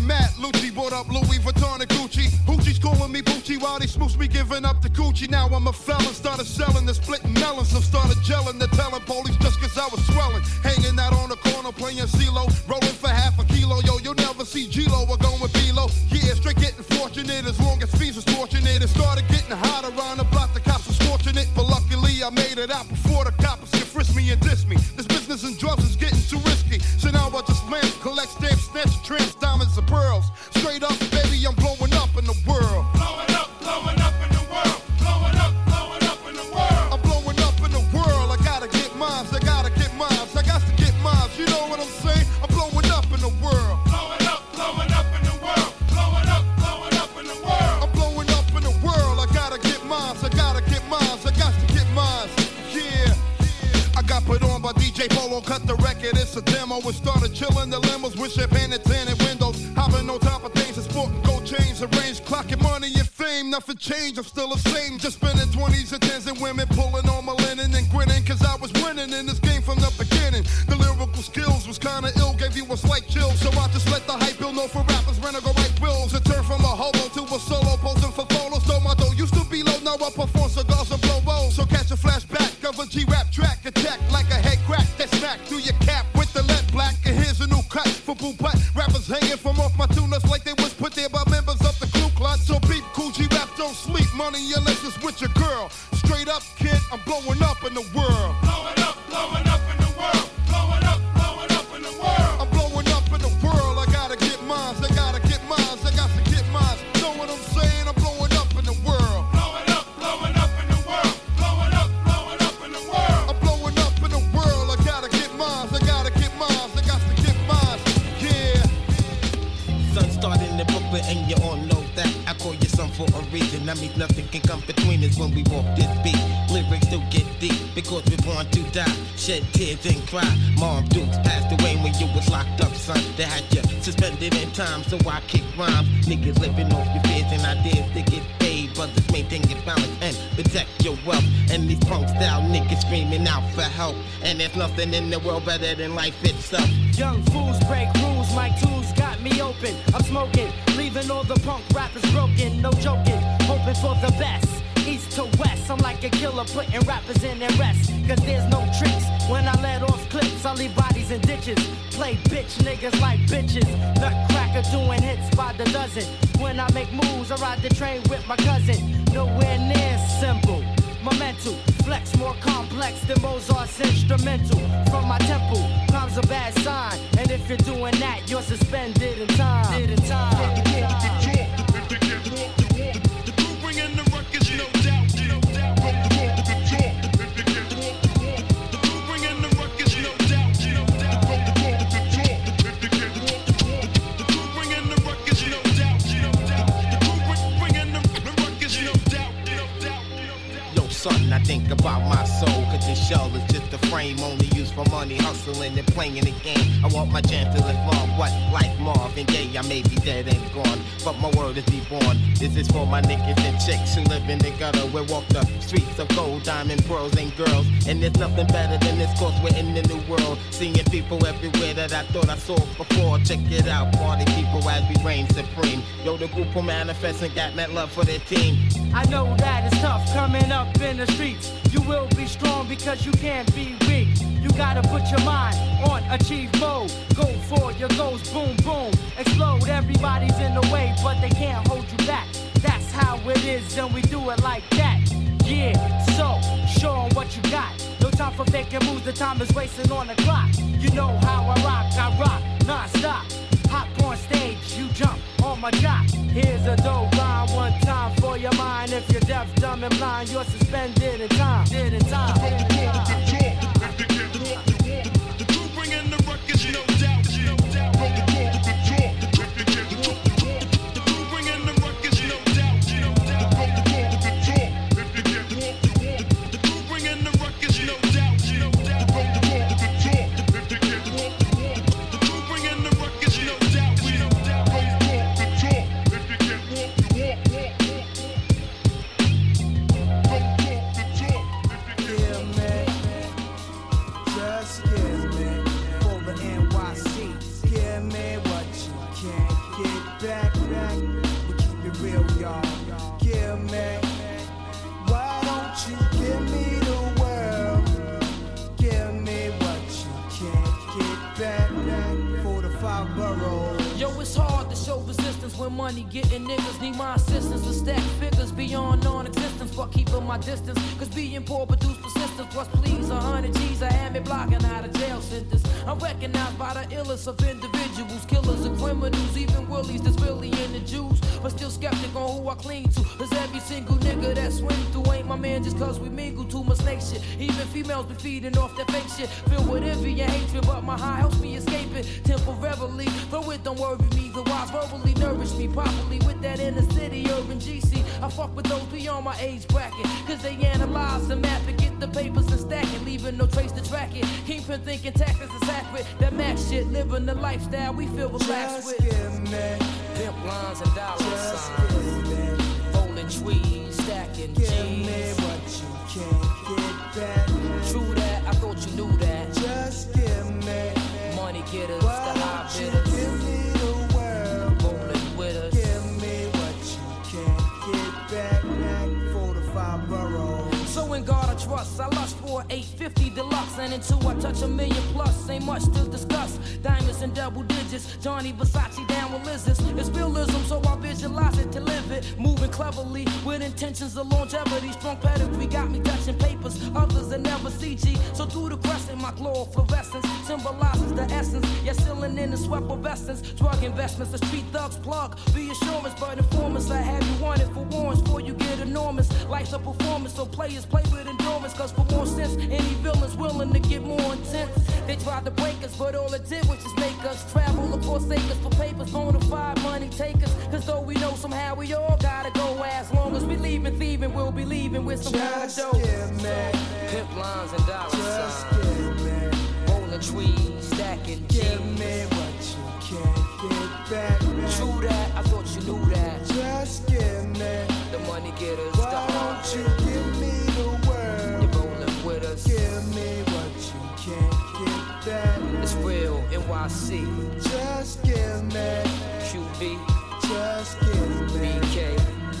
brought up Louis Vuitton and Gucci. Hoochie's calling me Poochie while they smooch me giving up the Gucci. Now I'm a felon, started selling the splitting melons. So started gelling, the telling police just cause I was swelling. Hanging out on the corner playing CeeLo, rolling for half a kilo. Yo, you'll never see G-Lo or going with B-Lo. Yeah, straight getting fortunate as long as fees was fortunate. It started getting hot around the block, the cops was scorching it. But luckily I made it out before the cops could frisk me and diss me. This business and drugs is getting too risky. So now I just land, collect stamps, snatch tramps, diamonds and pearls. Straight up, baby, I'm blowing up in the world. Blowing up, blowing up in the world. Blowing up, blowing up in the world. I'm blowing up in the world. I gotta get mines, I gotta get mines. I got to get mines, you know what I'm saying? I'm blowing up in the world. Blowing up, blowing up in the world. Blowing up, blowing up in the world. I'm blowing up in the world. I gotta get mines, I gotta get mines. I got to get mines, yeah. I got put on by D J Polo, cut the record, it's a demo. We started chilling the limos with champagne and tinted windows. Hopping on top of things and sporting gold chains, arranged, clocking money and fame. Nothing changed, I'm still the same. Just spending twenties and tens and women pulling on my linen and grinning. Cause I was winning in this game from the beginning. The lyrical skills was kinda ill, gave you a slight chill. So I just let the hype bill know for rappers, rent or go write wills. And turn from a hobo to a solo, posing for photos. Though my dough used to be low, now I perform cigars and blow rolls. So catch a flashback of a G-rap track, attack like a head crack. That smack through your cap with the lead black. And here's a new cut for Boo Putt. Rappers hanging from off my tunas like they was put there by members of the Ku Klux. So beep, cool G-rap, don't sleep. Money unless it's with your girl. Straight up, kid, I'm blowing up in the world. Blowing up, blowing up in the world. Blowing up, blowing up in the world. I'm blowing up in the world. I gotta get mines, I gotta get mines, I got to get mines. Know what I'm saying? I'm blowing up in the world. Blowing up, blowing up in the world. Blowing up, blowing up in the world. I'm blowing up in the world. I gotta get mines, I gotta get mines, I got to get mines. Yeah. Sun started in Brooklyn and you all know that. I call you son for a reason. That means nothing can come between us when we walk this beat. Lyrics still get deep because we're born to die. Shed tears and cry. Mom Dukes passed away when you was locked up, son. They had you suspended in time, so I kick rhymes. Niggas living off your fears and ideas to get paid. Brothers maintain your balance and protect your wealth. And these punk style niggas screaming out for help. And there's nothing in the world better than life itself. Young fools break rules, my tools got me open. I'm smoking, leaving all the punk rappers broken. No joking, hoping for the best. East to west, I'm like a killer putting rappers in their rest. Cause there's no tricks, when I let off clips I leave bodies in ditches. Play bitch niggas like bitches. Nutcracker doing hits by the dozen. When I make moves I ride the train with my cousin. Nowhere near simple. My mental flex more complex than Mozart's instrumental. From my temple comes a bad sign. And if you're doing that you're suspended in time. Did in time. I think about my soul, cause this shell is just a frame only used for money, hustling and playing the game. I want my chance to live long, what, like Marvin Gaye, I may be dead and gone, but my word is reborn. This is for my niggas and chicks who live in the gutter, we walk the streets of gold, diamond, pearls and girls. And there's nothing better than this, cause we're in the new world, seeing people everywhere that I thought I saw before. Check it out, party people as we reign supreme. Yo, the group will manifest and got that love for their team. I know that it's tough coming up in the streets. You will be strong because you can't be weak. You gotta put your mind on achieve mode. Go for your goals, boom, boom. Explode, everybody's in the way, but they can't hold you back. That's how it is, and we do it like that. Yeah, so, show 'em what you got. No time for faking moves, the time is wasting on the clock. You know how I rock, I rock, non-stop. Hop on stage, you jump on my jock. Here's a dope line, one time for your mind. If you're deaf, dumb, and blind, you're suspended in time. Did in time. Did in time. The crew bringing the ruckus, no doubt. No doubt. The crew bringing the ruckus, no doubt. No doubt. The crew bringing the ruckus, no doubt. No doubt. The crew bringing the ruckus, no doubt. No doubt. Yeah, man. night. But keep it real, y'all. Give me, why don't you give me the world? Give me what you can't get back. For the five boroughs. Yo, it's hard to show resistance when money getting niggas need my assistance to stack figures beyond non-existence. Fuck keeping my distance, cause being poor produce persistence. Plus please, a hundred G's, I had me blocking out of jail sentence. I'm recognized by the illest of individuals, killers and criminals, even willies that's really into Jews. But still skeptic on who I cling to, cause every single nigga that swing through ain't my man just cause we mingle too much snake shit. Even females be feeding off that fake shit, filled with envy and hatred, but my high helps me escape it temporarily. Though it don't worry me, the wise verbally nourish me properly with that inner city urban G C. I fuck with those beyond my age bracket, cause they analyze and map it, get the papers and stack it, leaving no trace to track it. Kingpin thinking tactics is accurate, that max shit, living the lifestyle we feel relaxed with. Pimp lines and dollar signs, rolling trees, stacking G's. Give me what you can't get back. True that, I thought you knew that. Just give me money getters, the high bidders. Give me the world, rolling with us. Give me what you can't get back. For the five boroughs. So in God I trust, I lust for eight fifty deluxe, and until I touch a million plus, ain't much to discuss. Diamonds in double digits, Johnny Versace down with lizards. It's realism, so I visualize it to live it. Moving cleverly with intentions of longevity. Strong pedigree got me touching papers, others that never C G. So through the crescent, my glow of fluorescence symbolizes the essence. Yet sealing in the sweat of essence. Drug investments, the street thugs plug. Reassurance, but informants, I have you wanted for warrants before you get enormous. Life's a performance, so players play with endurance. Cause for more sense, any villain's willing to get more intense. They tried to break us, but all it did was just make us travel across acres for papers, bona fide money takers. Cause though we know somehow we all gotta go, as long as we leaving thieving, we'll be leaving with some kind of dough. Pimp lines and dollar Just signs, give me, rolling trees, stacking G's. give me what you can't get back. True that, I thought you knew that. Just give me the money getters, the why hard don't you bidders. give me the world? You're rolling with us. Give me what you can't get back. It's real, N Y C. Just give me, Q B, just give B me, K,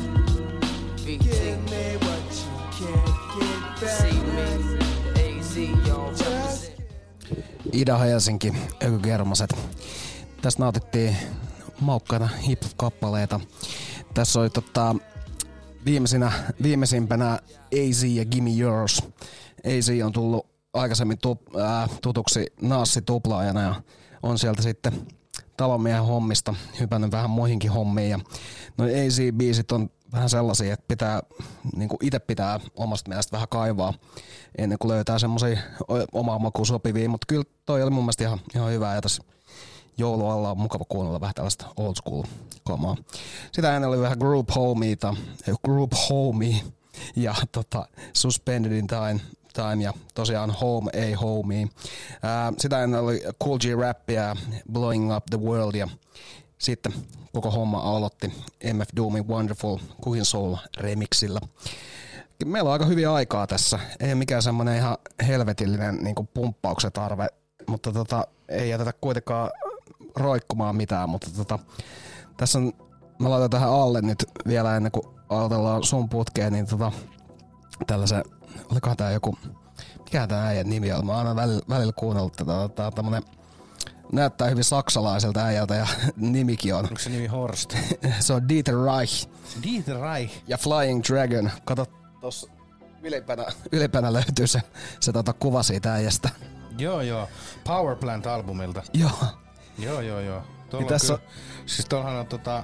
B T, give me what you can't get back. see me, the A Z, y'all represent. Ida-Helsinki, Ökykermaset. Tässä nautittiin maukkaita hip-hop-kappaleita. Tässä oli tota, viimeisinä, viimeisimpänä A Z ja Gimme Yours. A Z on tullut aikaisemmin tu, ää, tutuksi Naassi-tuplaajana ja on sieltä sitten talonmiehen hommista hypännyt vähän muihinkin hommiin. Ja noi A Z-biisit on vähän sellaisia, että pitää, niin kuin itse pitää omasta mielestä vähän kaivaa ennen kuin löytää semmosia omaa makuun sopivia, mutta kyllä toi oli mun mielestä ihan, ihan hyvää ja tässä joulualla on mukava kuunnella vähän tällaista old school kamaa. Sitä ennen oli vähän Group Homeita, Group Homie ja tota, Suspended in Time, time ja tosiaan Home ei Homie. Ää, sitä ennen oli Cool G Rappia, Blowing Up the World ja sitten koko homma aloitti M F Doomin Wonderful Cooking Soul remixillä. Meillä on aika hyviä aikaa tässä. Ei mikään semmonen ihan helvetillinen niin kuin pumppauksen tarve, mutta tota, ei jätetä kuitenkaan roikkumaan mitään. Mutta tota, tässä on, mä laitan tähän alle nyt vielä ennen kuin aloitellaan sun putkeen, niin tota, tällaisen, olikohan tää joku, mikä tää äijän nimi on? Mä oon aina välillä, välillä kuunnellut tätä, tää on tämmönen, näyttää hyvin saksalaiselta äijältä ja nimikin on. Onko se nimi Horst? Se on Dieter Reich. Dieter Reich. Ja Flying Dragon. Kato, tossa ylipänä, ylipänä löytyy se, se tota kuva siitä äijästä. Joo, joo. Power Plant-albumilta. Joo. Joo, joo, joo. Tuolla Niin tässä kyllä, siis tuollahan on tota,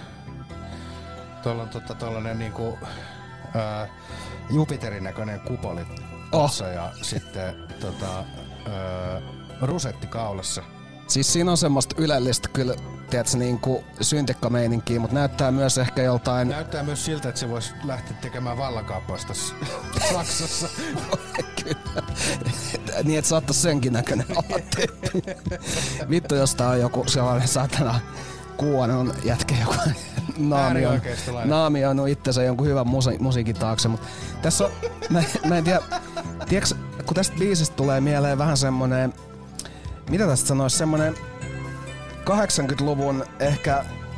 tuolla on tota tollanen niinku ää, Jupiterin näköinen kupoli tossa oh. Ja sitten tota, ää, rusetti kaulassa. Siis siinä on semmoista ylellistä kyllä, tiedätkö, niinku syntikkameininkiä, mutta näyttää myös ehkä joltain... Näyttää myös siltä, että se voisi lähteä tekemään vallankaappausta Saksassa. Kyllä. Niin, että saattais senkin näköinen olla tyyppi. Vittu, jos tää on joku sellainen satana kuonon jätkä, joka naamioinut, naamioinut itsensä jonkun hyvän musi- musiikin taakse. Mut tässä on, mä, mä en tiedä, tiedätkö, kun tästä biisistä tulee mieleen vähän semmonen, mitä tästä sanois, semmonen kahdeksankymmentäluvun ehkä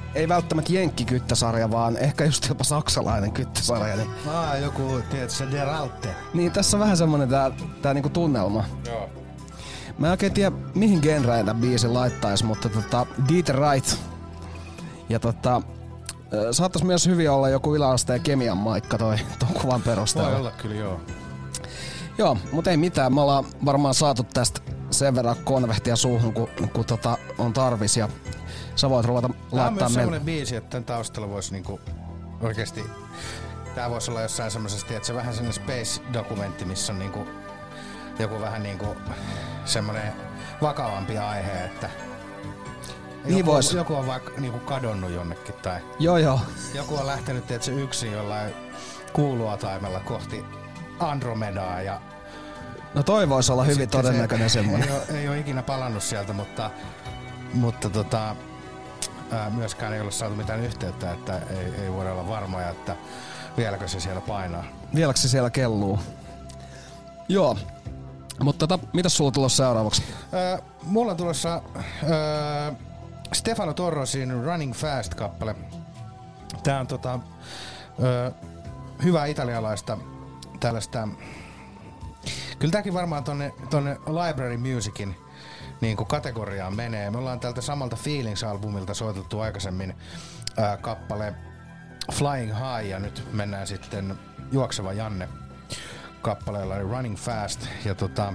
ei välttämättä jenkkikyttäsarja, vaan ehkä just jopa saksalainen kyttäsarja. Niin, Aa, joku, tiedätkö, Der Alte. niin tässä on vähän semmonen tää, tää niinku tunnelma. Joo. Mä en oikein tiedä, mihin genreen tän biisin laittaisi, mutta tota, Dieter Wright. Ja tota, saattais myös hyvin olla joku yläasteen kemian maikka toi ton kuvan perusteella. Voi olla kyllä, joo. Joo, mut ei mitään. Me ollaan varmaan saatu tästä sen verran konvehtia suuhun, kun, kun tota on tarvis. Ja sä voit ruveta Tää on laittaa myös meille. semmonen biisi, että tän taustalla voisi niinku oikeesti... Tää voisi olla jossain semmosessa, tiedätkö, vähän semmonen space-dokumentti, missä on niinku joku vähän niinku semmonen vakavampi aihe, että Niin joku, vois. joku on vaikka niinku kadonnut jonnekin tai Joo, joo. joku on lähtenyt, tiedätkö, yksin jollain kuuluataimella kohti Andromedaa ja No toi vois olla hyvin sitten todennäköinen se, semmonen. Ei oo, ei oo ikinä palannut sieltä, mutta, mutta tota, ää, myöskään ei ole saatu mitään yhteyttä, että ei, ei voida olla varmoja, että vieläkö se siellä painaa. Vieläkö se siellä kelluu? Joo. Mutta tota, mitäs sulla tulossa seuraavaksi? Öö, mulla on tulossa öö, Stefano Torrosin Running Fast-kappale. Tää on tota, öö, hyvää italialaista tällaista... Kyllä tääkin varmaan tonne, tonne Library Musicin niin kuin kategoriaan menee. Me ollaan tältä samalta Feelings-albumilta soitettu aikaisemmin ää, kappale Flying High ja nyt mennään sitten Juokseva Janne kappaleella eli Running Fast. Ja tota,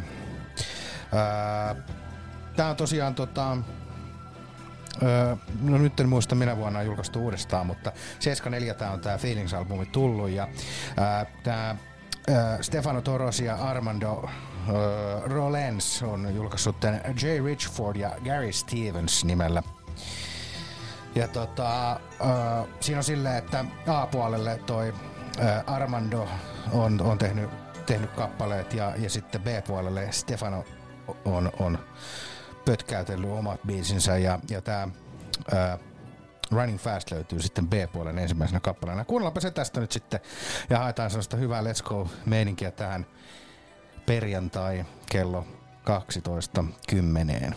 ää, tää on tosiaan tota, ää, no nyt en muista minä vuonna on julkaistu uudestaan, mutta seitsemänkymmentäneljä tää on tää Feelings-albumi tullut ja ää, tää ää, Stefano Torrosi ja Armando ää, Rolens on julkaissut tän Jay Richford ja Gary Stevens nimellä. Ja tota, äh, siinä on silleen, että A-puolelle toi äh, Armando on, on tehnyt, tehnyt kappaleet ja, ja sitten B-puolelle Stefano on, on pötkäytellyt omat biisinsä ja, ja tää äh, Running Fast löytyy sitten B-puolen ensimmäisenä kappaleena. Kuunnellaanpa se tästä nyt sitten ja haetaan sellaista hyvää Let's Go-meininkiä tähän perjantai kello kaksitoista kymmeneen.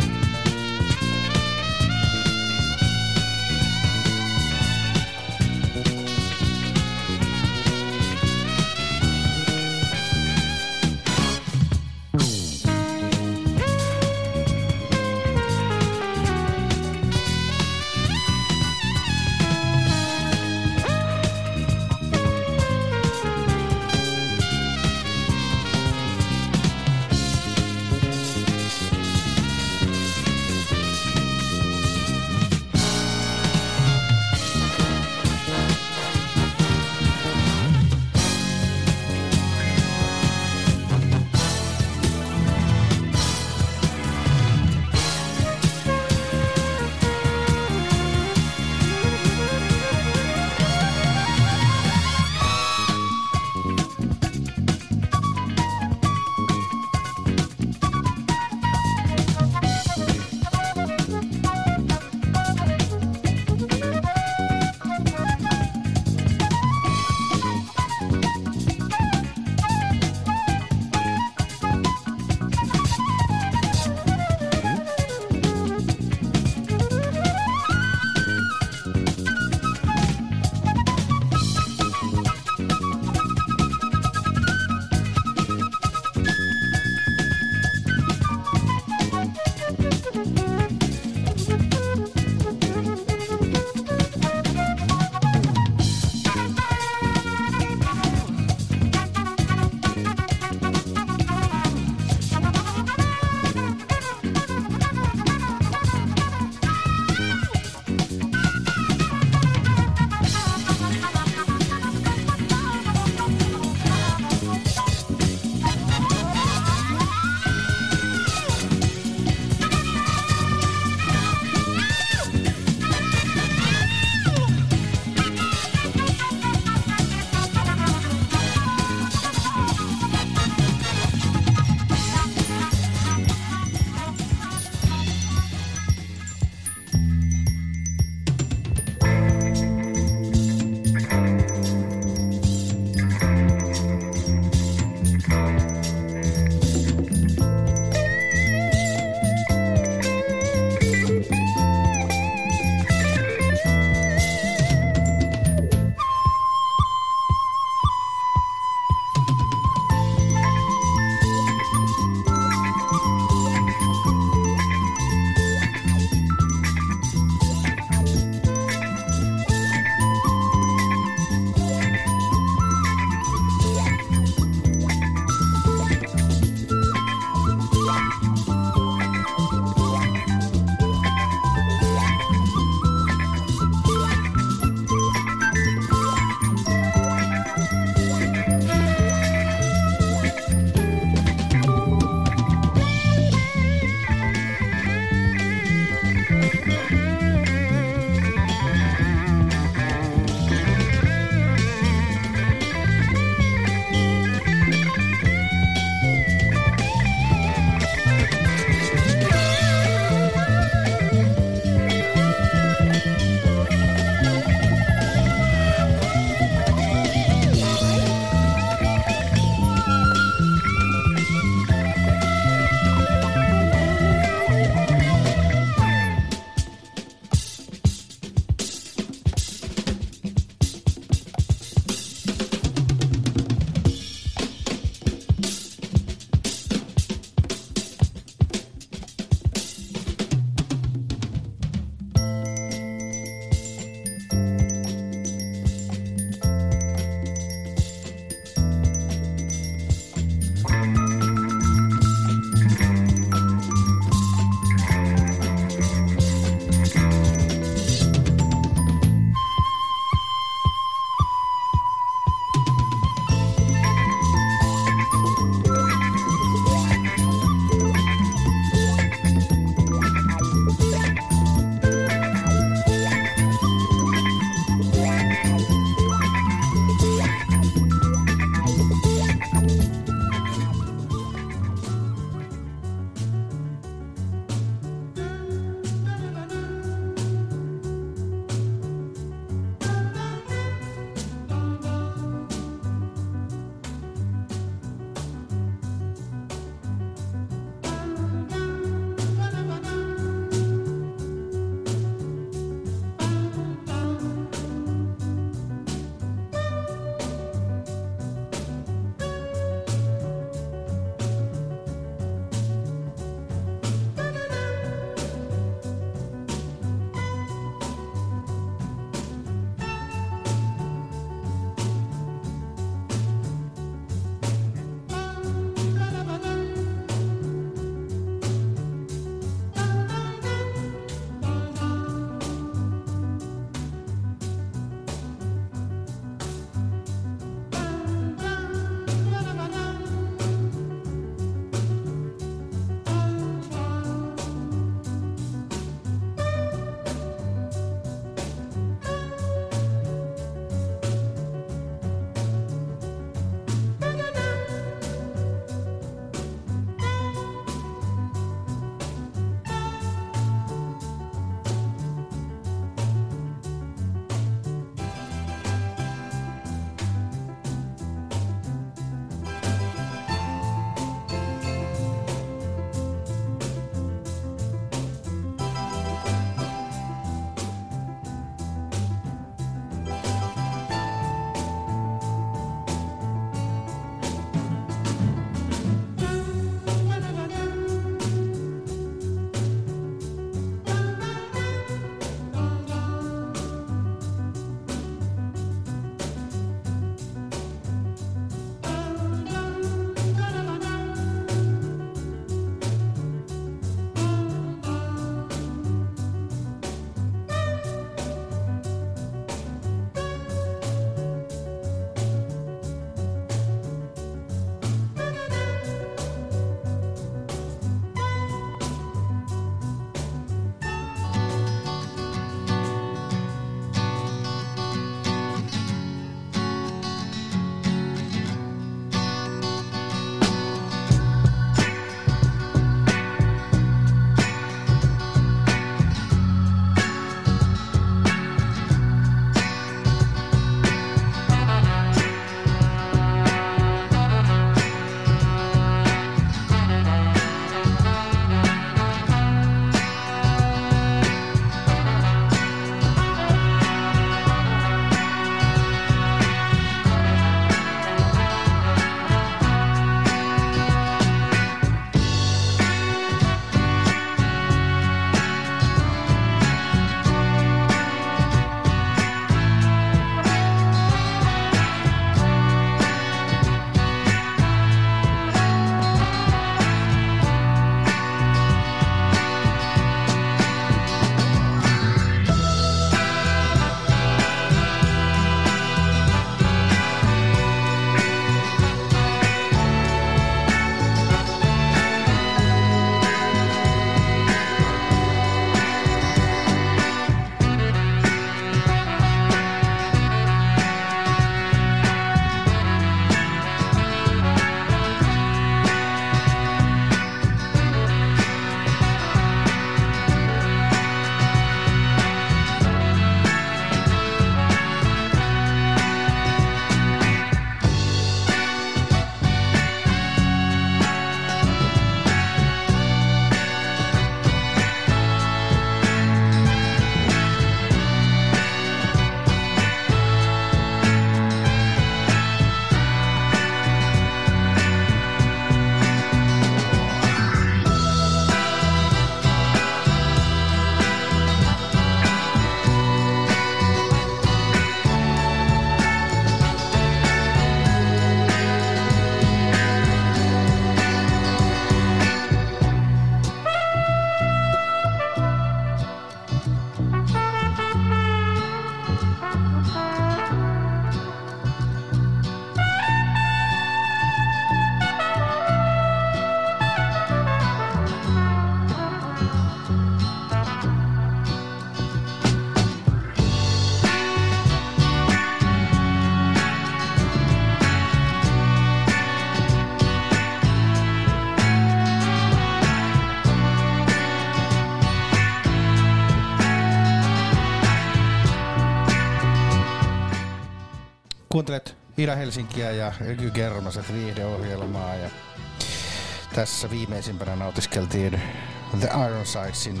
Kuuntelet Ida-Helsinkiä ja Ky Kermaset viihdeohjelmaa ja tässä viimeisimpänä nautiskeltiin The Ironsidesin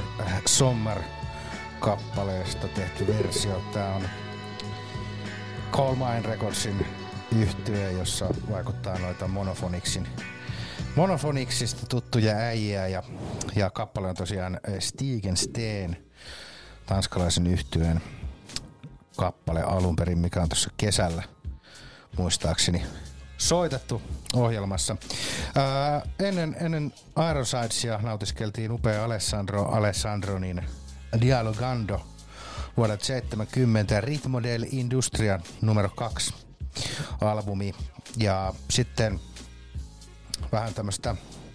Sommer-kappaleesta tehty versio. Tää on Coal Mine Recordsin yhtye, jossa vaikuttaa noita Monophonixin Monophonixista tuttuja äijiä ja, ja kappale on tosiaan Stigen Steen, tanskalaisen yhtyeen kappale alun perin, mikä on tuossa kesällä muistaakseni soitettu ohjelmassa. Ää, ennen, ennen Ironsidesia nautiskeltiin upea Alessandro Alessandronin Dialogando vuodelta seitsemänkymmentä Ritmo del Industria numero kaksi albumi ja sitten vähän tämmöstä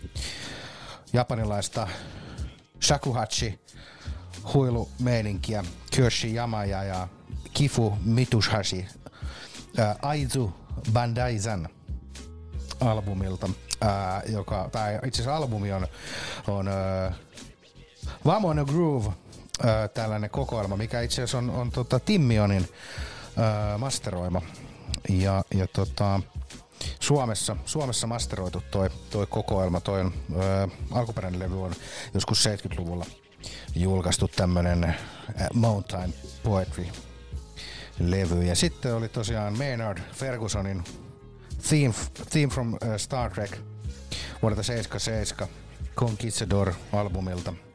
japanilaista shakuhachi huilumeininkiä Kyoshi Yamaya ja Kifu Mitsuhashi ää, Aizu Bandaizan albumilta, ää, joka, tai itse asiassa albumi on, on ää, Vamona Groove, ää, tällainen kokoelma, mikä itse asiassa on, on tota Timmionin ää, masteroima. Ja, ja tota, Suomessa, Suomessa masteroitu toi, toi kokoelma, toi on, ää, alkuperäinen levy on joskus seitsemänkymmentäluvulla julkaistu tämmönen ää, Mountain Poetry levy. Ja sitten oli tosiaan Maynard Fergusonin Theme, theme from uh, Star Trek vuodelta seitsemänkymmentäseitsemän Conquistador-albumilta.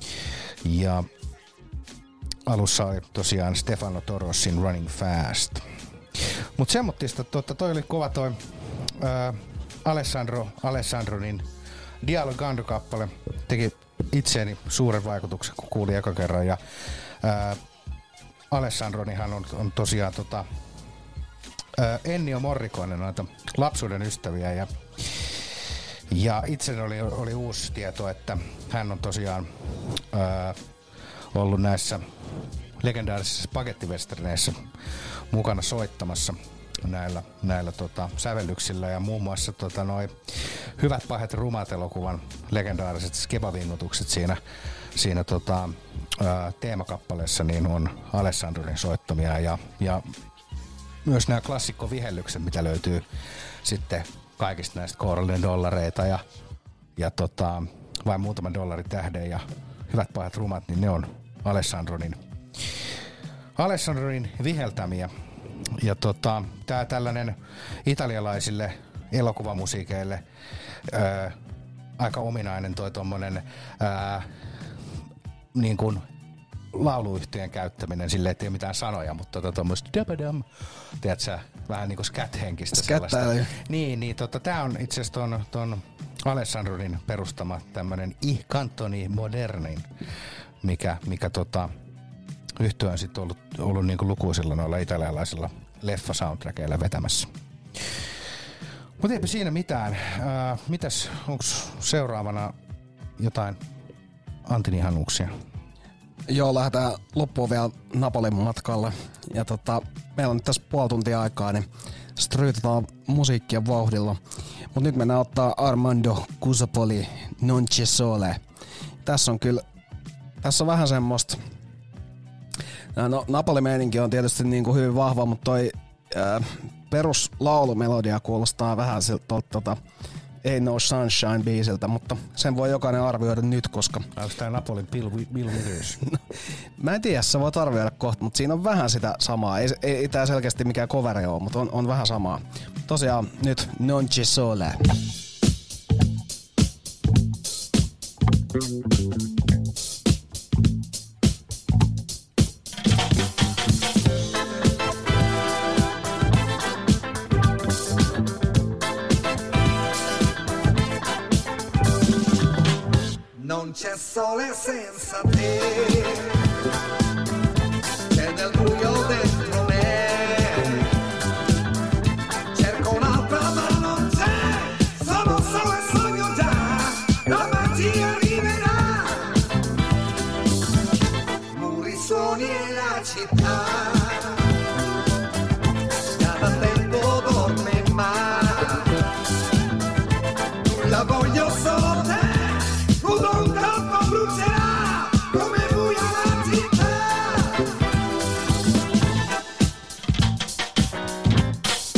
Ja alussa oli tosiaan Stefano Torrosin Running Fast. Mut semmottista, totta, toi oli kova toi uh, Alessandro Alessandronin Dialogando-kappale. Teki itseeni suuren vaikutuksen, kun kuulin eka kerran. Ja uh, Alessandronihan on, on tosiaan tota, ää, Ennio Morricone, noita lapsuuden ystäviä ja, ja itseni oli, oli uusi tieto, että hän on tosiaan ää, ollut näissä legendaarisissa spagettivesterneissä mukana soittamassa näillä, näillä tota, sävellyksillä ja muun muassa tota, noi Hyvät pahet rumat -elokuvan legendaariset skebavingutukset siinä, siinä tota, ää, teemakappaleessa niin on Alessandronin soittamia ja, ja myös nämä klassikkovihellykset, mitä löytyy sitten kaikista näistä kourallinen dollareita ja, ja tota, vain muutaman dollarin tähden ja Hyvät pahet rumat, niin ne on Alessandronin, Alessandronin viheltämiä. Ja tota, tää tällainen italialaisille elokuvamusiikeille ää, aika ominainen toi tommonen ää, niin kuin lauluyhtiön käyttäminen, silleen ettei ole mitään sanoja, mutta tota tommoista dabadam, tiedätkö, vähän niinku scat-henkistä sellaista. Niin, niin tota, tää on itse asiassa ton, ton Alessandronin perustama tämmönen I Cantoni Modernin, mikä, mikä tota, yhtye on sitten ollut, ollut niinku lukuisilla noilla italialaisilla leffa-soundtrackeilla vetämässä. Mutta eipä siinä mitään. Ää, mitäs, onks seuraavana jotain Antin ihanuuksia? Joo, lähdetään loppuun vielä Napolin matkalle. Ja tota, meillä on nyt tässä puoli tuntia aikaa, niin stryytetään musiikkia vauhdilla. Mutta nyt mennään ottaa Armando Cusapoli Non C'è Sole. Tässä on kyllä, tässä on vähän semmoista. No, Napoli-meininki on tietysti niin kuin hyvin vahva, mutta toi ää, peruslaulumelodia kuulostaa vähän siltä tota, Ain't No Sunshine-biisiltä, mutta sen voi jokainen arvioida nyt, koska... Onko tää Napolin Bill, Bill Withers? No, mä en tiedä, sä voit arvioida kohta, mutta siinä on vähän sitä samaa. Ei, ei, ei tää selkeästi mikään coveri ole, mutta on, on vähän samaa. Tosiaan nyt Non C'è Sole. Non c'è sole senza te, c'è del buio dentro me, cerco un'altra ma non c'è, sono solo e sogno già, la magia arriverà, muri, suoni e la città, cada tempo dorme ma, nulla voglio solo te. Un campo brucerà come buia la città.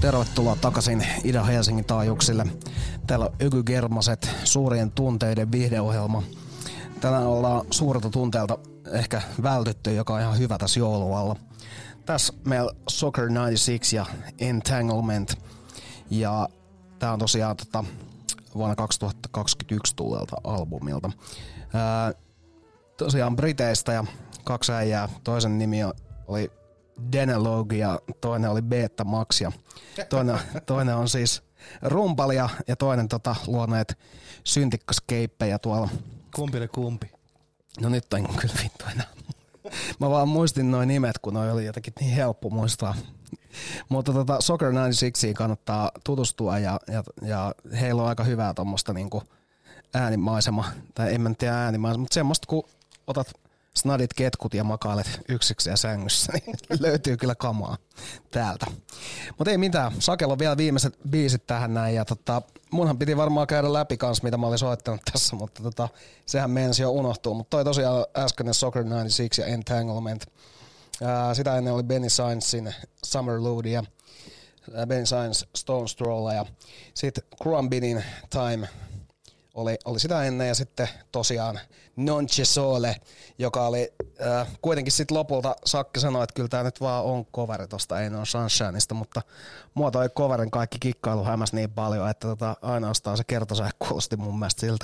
Tervetuloa takaisin Ida-Helsingin taajuuksille. Täällä on Öky Germaset, suurien tunteiden viihdeohjelma. Tänään ollaan suurelta tunteelta ehkä vältytty, joka on ihan hyvä tässä joulualla. Tässä meillä Soccer yhdeksänkymmentäkuusi ja Entanglement. Ja tää on tosiaan tota, vuonna kaksituhattakaksikymmentäyksi tulleelta albumilta. Ää, tosiaan Briteistä ja kaksi äijää. Toisen nimi oli Denelog ja toinen oli Beta Max ja toinen, toinen on siis rumpalia ja toinen tota, luo näitä syntikkaskeippejä tuolla. Kumpi oli kumpi? No nyt en kyllä vittu enää. Mä vaan muistin noin nimet, kun noi oli jotenkin niin helppo muistaa. Mutta tota, Soccer yhdeksänkymmentäkuusi kannattaa tutustua ja, ja, ja heillä on aika hyvää tommoista niinku äänimaisema, tai en mä tiedä äänimaisema, mutta semmoista kun otat snadit ketkut ja makailet yksikseen sängyssä, niin löytyy kyllä kamaa täältä. Mutta ei mitään, Sakella on vielä viimeiset biisit tähän näin, ja tota, munhan piti varmaan käydä läpi kans, mitä mä olin soittanut tässä, mutta tota, sehän meinasi jo unohtua. Mutta toi tosiaan äskeinen Soccer yhdeksänkymmentäkuusi ja Entanglement. Ää, sitä ennen oli Benny Sainzin Summer Load ja Benny Sainz Stone Stroll ja sitten Crumbinin Time oli, oli sitä ennen ja sitten tosiaan Non C'è Sole, joka oli äh, kuitenkin sitten lopulta Sakke sanoi, että kyllä tämä nyt vaan on coveri tosta Ain't No Sunshineista, mutta mua toi coverin kaikki kikkailu hämäs niin paljon, että tota, ainoastaan se kertosäe kuulosti mun mielestä siltä.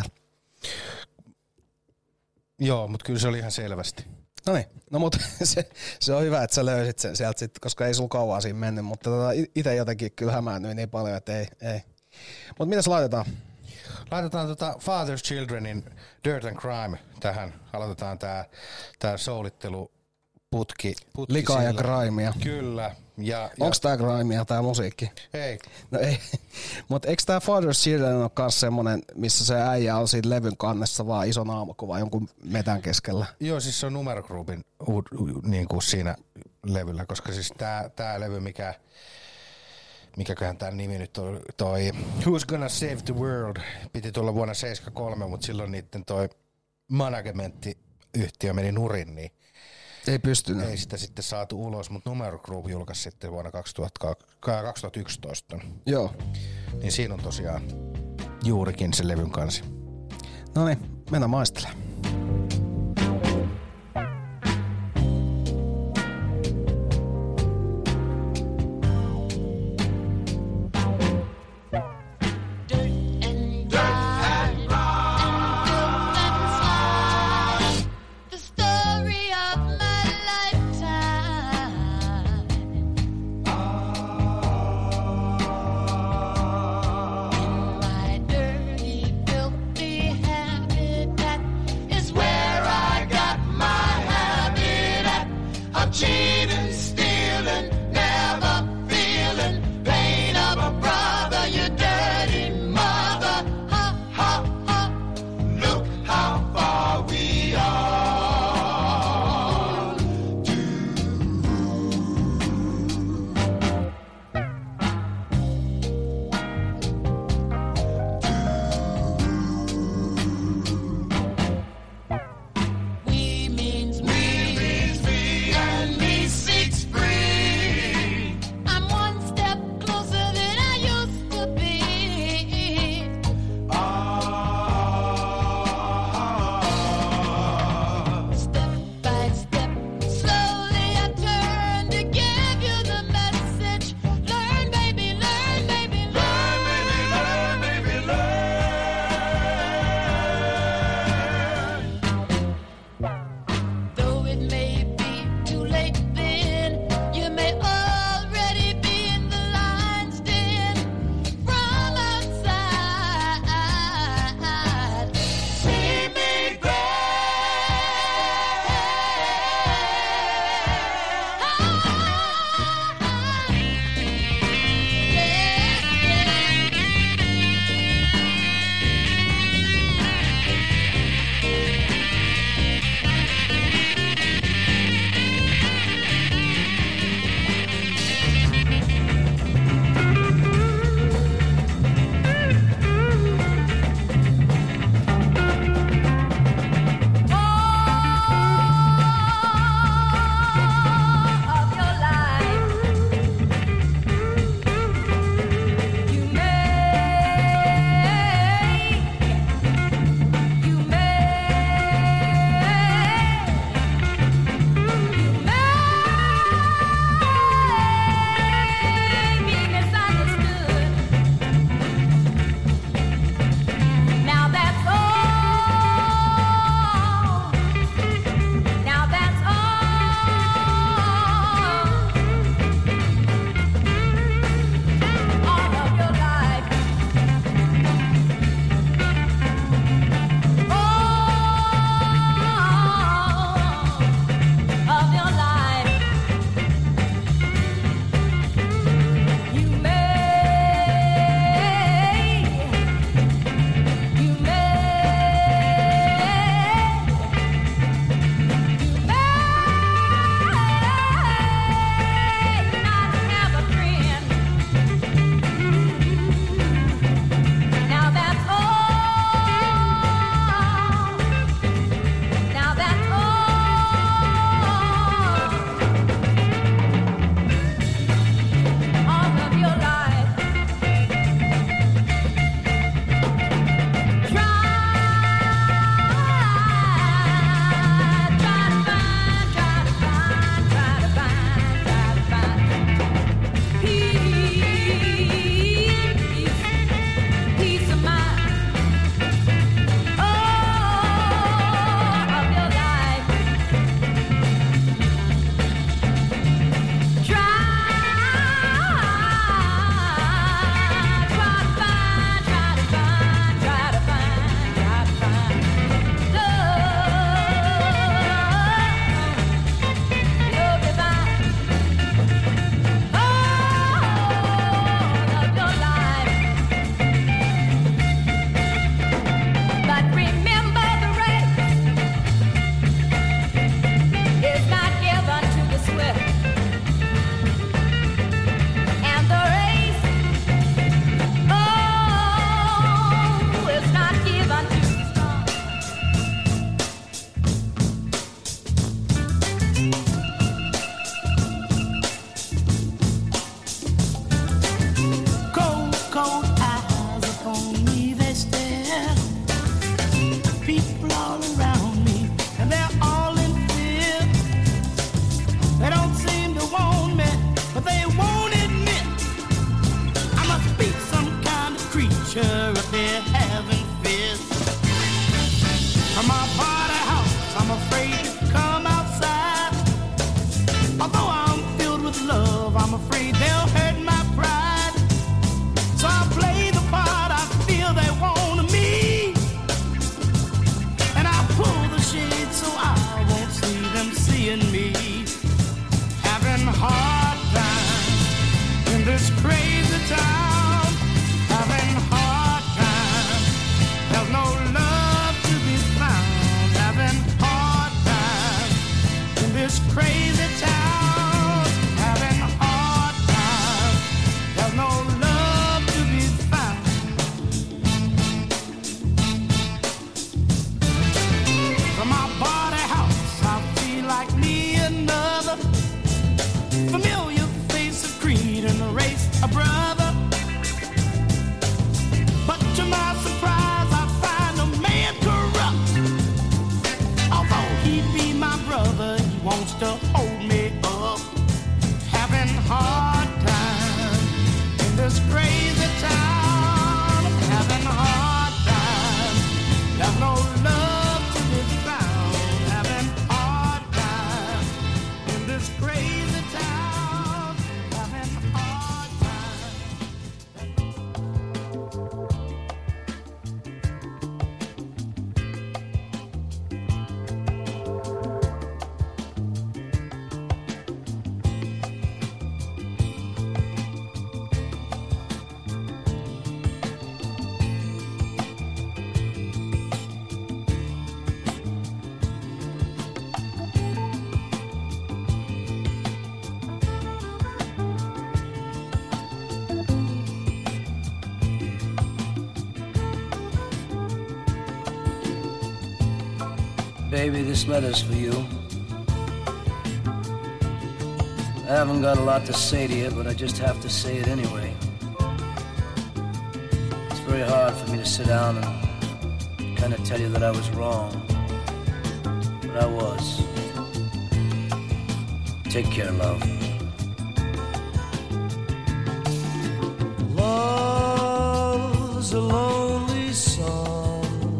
Joo, mutta kyllä se oli ihan selvästi. No niin, no mutta se, se on hyvä, että sä löysit sen sieltä sitten, koska ei sulla kauaa siinä mennyt, mutta tota, itse jotenkin kyllä hämäännyin niin paljon, että ei. ei. Mutta mitäs laitetaan? Laitetaan tota Father's Childrenin Dirt and Crime tähän. Aloitetaan tää, tää soulitteluputki. Putki Likaa ja sillä. Crimea. Kyllä. Ja, Onks tää Crimea tää musiikki? Ei. No ei. Mut eiks tää Father's Children ole kans semmonen, missä se äijä on siinä levyn kannessa vaan iso naamakuva jonkun metän keskellä? Joo, siis se on numerogroupin niin kuin siinä levyllä, koska siis tää, tää levy, mikä mikäköhän tämän nimi nyt on, toi Who's Gonna Save the World, piti tulla vuonna seitsemänkymmentäkolme, mutta silloin niitten toi managementtiyhtiö meni nurin, niin ei pystynyt. Ei sitä sitten saatu ulos, mutta Numero Group julkaisi sitten vuonna kaksituhattayksitoista. Joo. Niin siinä on tosiaan juurikin se levyn kansi. No niin, mennään maistelemaan. And me hard times in this crazy town. Having hard times. There's no love to be found. Having hard times in this crazy town. Having hard times. There's no love to be found. From my body house, I feel like me another familiar face of creed and the race a brother. But to my surprise, I find a man corrupt. Although he be my brother, he wants to hold me up. Having hard time in this crazy town. Having hard time. There's no love to be found. Having hard time in this crazy town. Having hard time. Baby, this letter's for you. I haven't got a lot to say to you, but I just have to say it anyway. It's very hard for me to sit down and kind of tell you that I was wrong. But I was. Take care, love. Love's a lonely song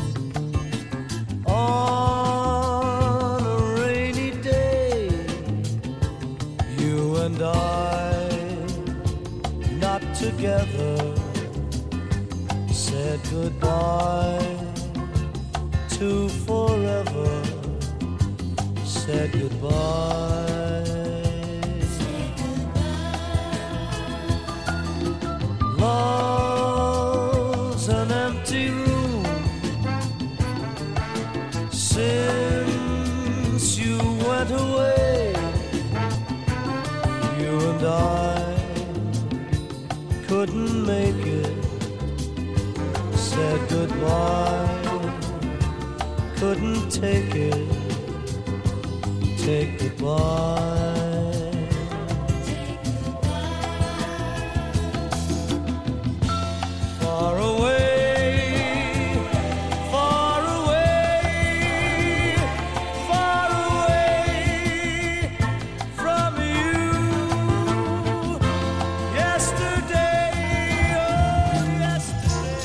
on a rainy day. You and I, not together, said goodbye to forever. Said goodbye. Love's an empty room since you went away. You and I couldn't make it. Said goodbye, couldn't take it. Take goodbye. Far away, far away, far away from you. Yesterday, oh yesterday.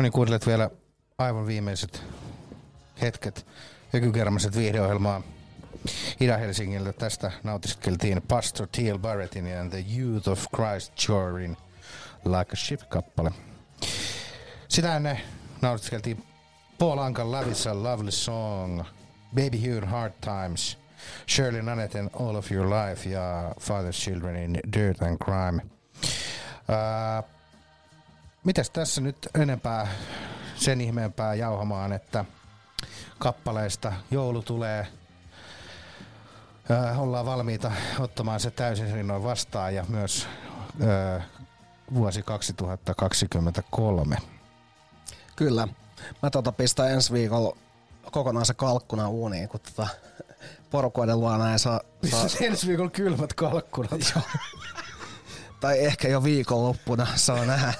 niin kuuntelet vielä aivan viimeiset hetket ökykermaset viihdeohjelmaa Itä-Helsingiltä. Tästä nautiskeltiin Pastor T L Barrettin ja The Youth of Christ Chorin Like a Ship-kappale. Sitä ennen nautiskeltiin Paul Ankan Lavissa Lovely Song, Baby Hugh Hard Times, Shirley Nanetten All of Your Life ja Father's Childrenin Dirt and Crime. Uh, mitäs tässä nyt enempää sen ihmeempää jauhamaan, että kappaleista joulu tulee. Uh, ollaan valmiita ottamaan se täysin rinnoin vastaan ja myös uh, vuosi kaksituhattakaksikymmentäkolme. Kyllä. Mä tota pistän ensi viikolla kokonaan se kalkkuna uuniin, kun tota porukoiden luona ei saa... saa... ensi viikolla kylmät kalkkunat. Tai ehkä jo viikonloppuna, saa nähdä.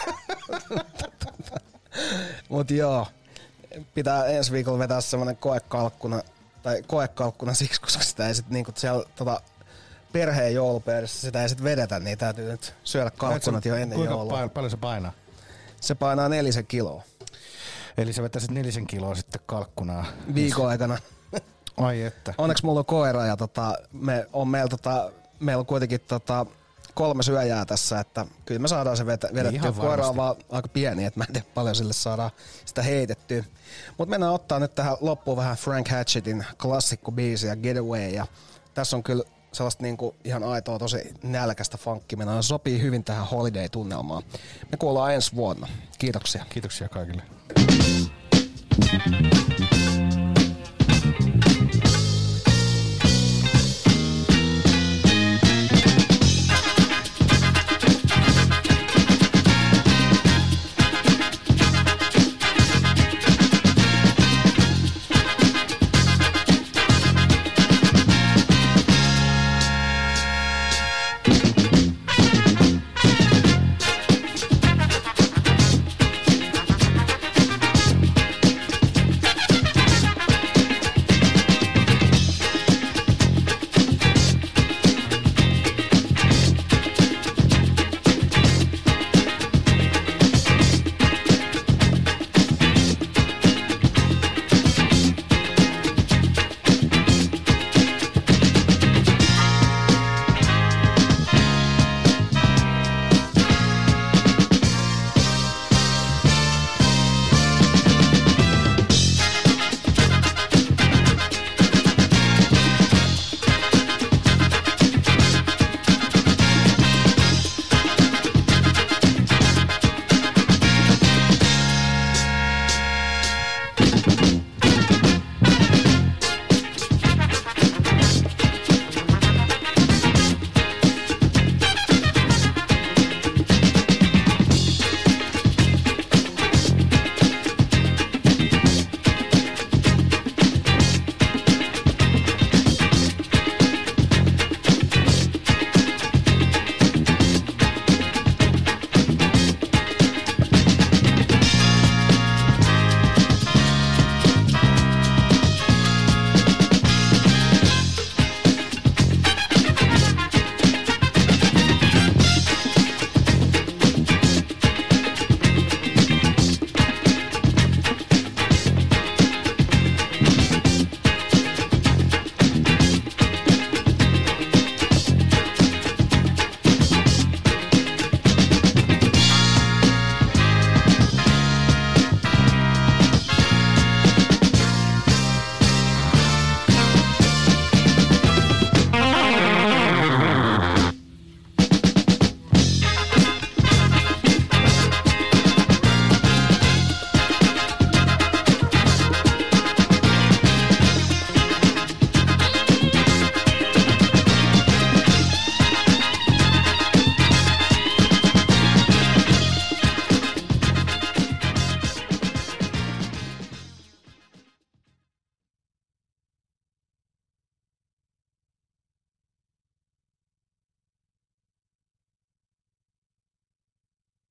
Mut joo, pitää ensi viikolla vetää semmonen koekalkkuna, tai koekalkkuna siksi, koska sitä ei sit niinku siellä tota perheen joulupöydässä sitä ei sit vedetä, niin täytyy nyt syödä kalkkunat jo ennen kuinka joulua. Kuinka paljon se painaa? Se painaa nelisen kiloa. Eli sä vetäisit nelisen kiloa sitten kalkkunaa. Viikon aikana. Ai että. Onneksi mulla on koira ja tota, me on meillä tota, meillä on kuitenkin tota, kolme syöjää tässä, että kyllä me saadaan se vetä, vedettyä. Koira on vaan aika pieni, että mä en tiedä paljon sille saadaan sitä heitettyä. Mutta mennään ottaa nyt tähän loppuun vähän Frank Hatchettin klassikkobiisiä Getaway. Ja tässä on kyllä sellaista niinku ihan aitoa tosi nälkästä funkkimenoa. Se sopii hyvin tähän holiday-tunnelmaan. Me kuullaan ensi vuonna. Kiitoksia. Kiitoksia kaikille.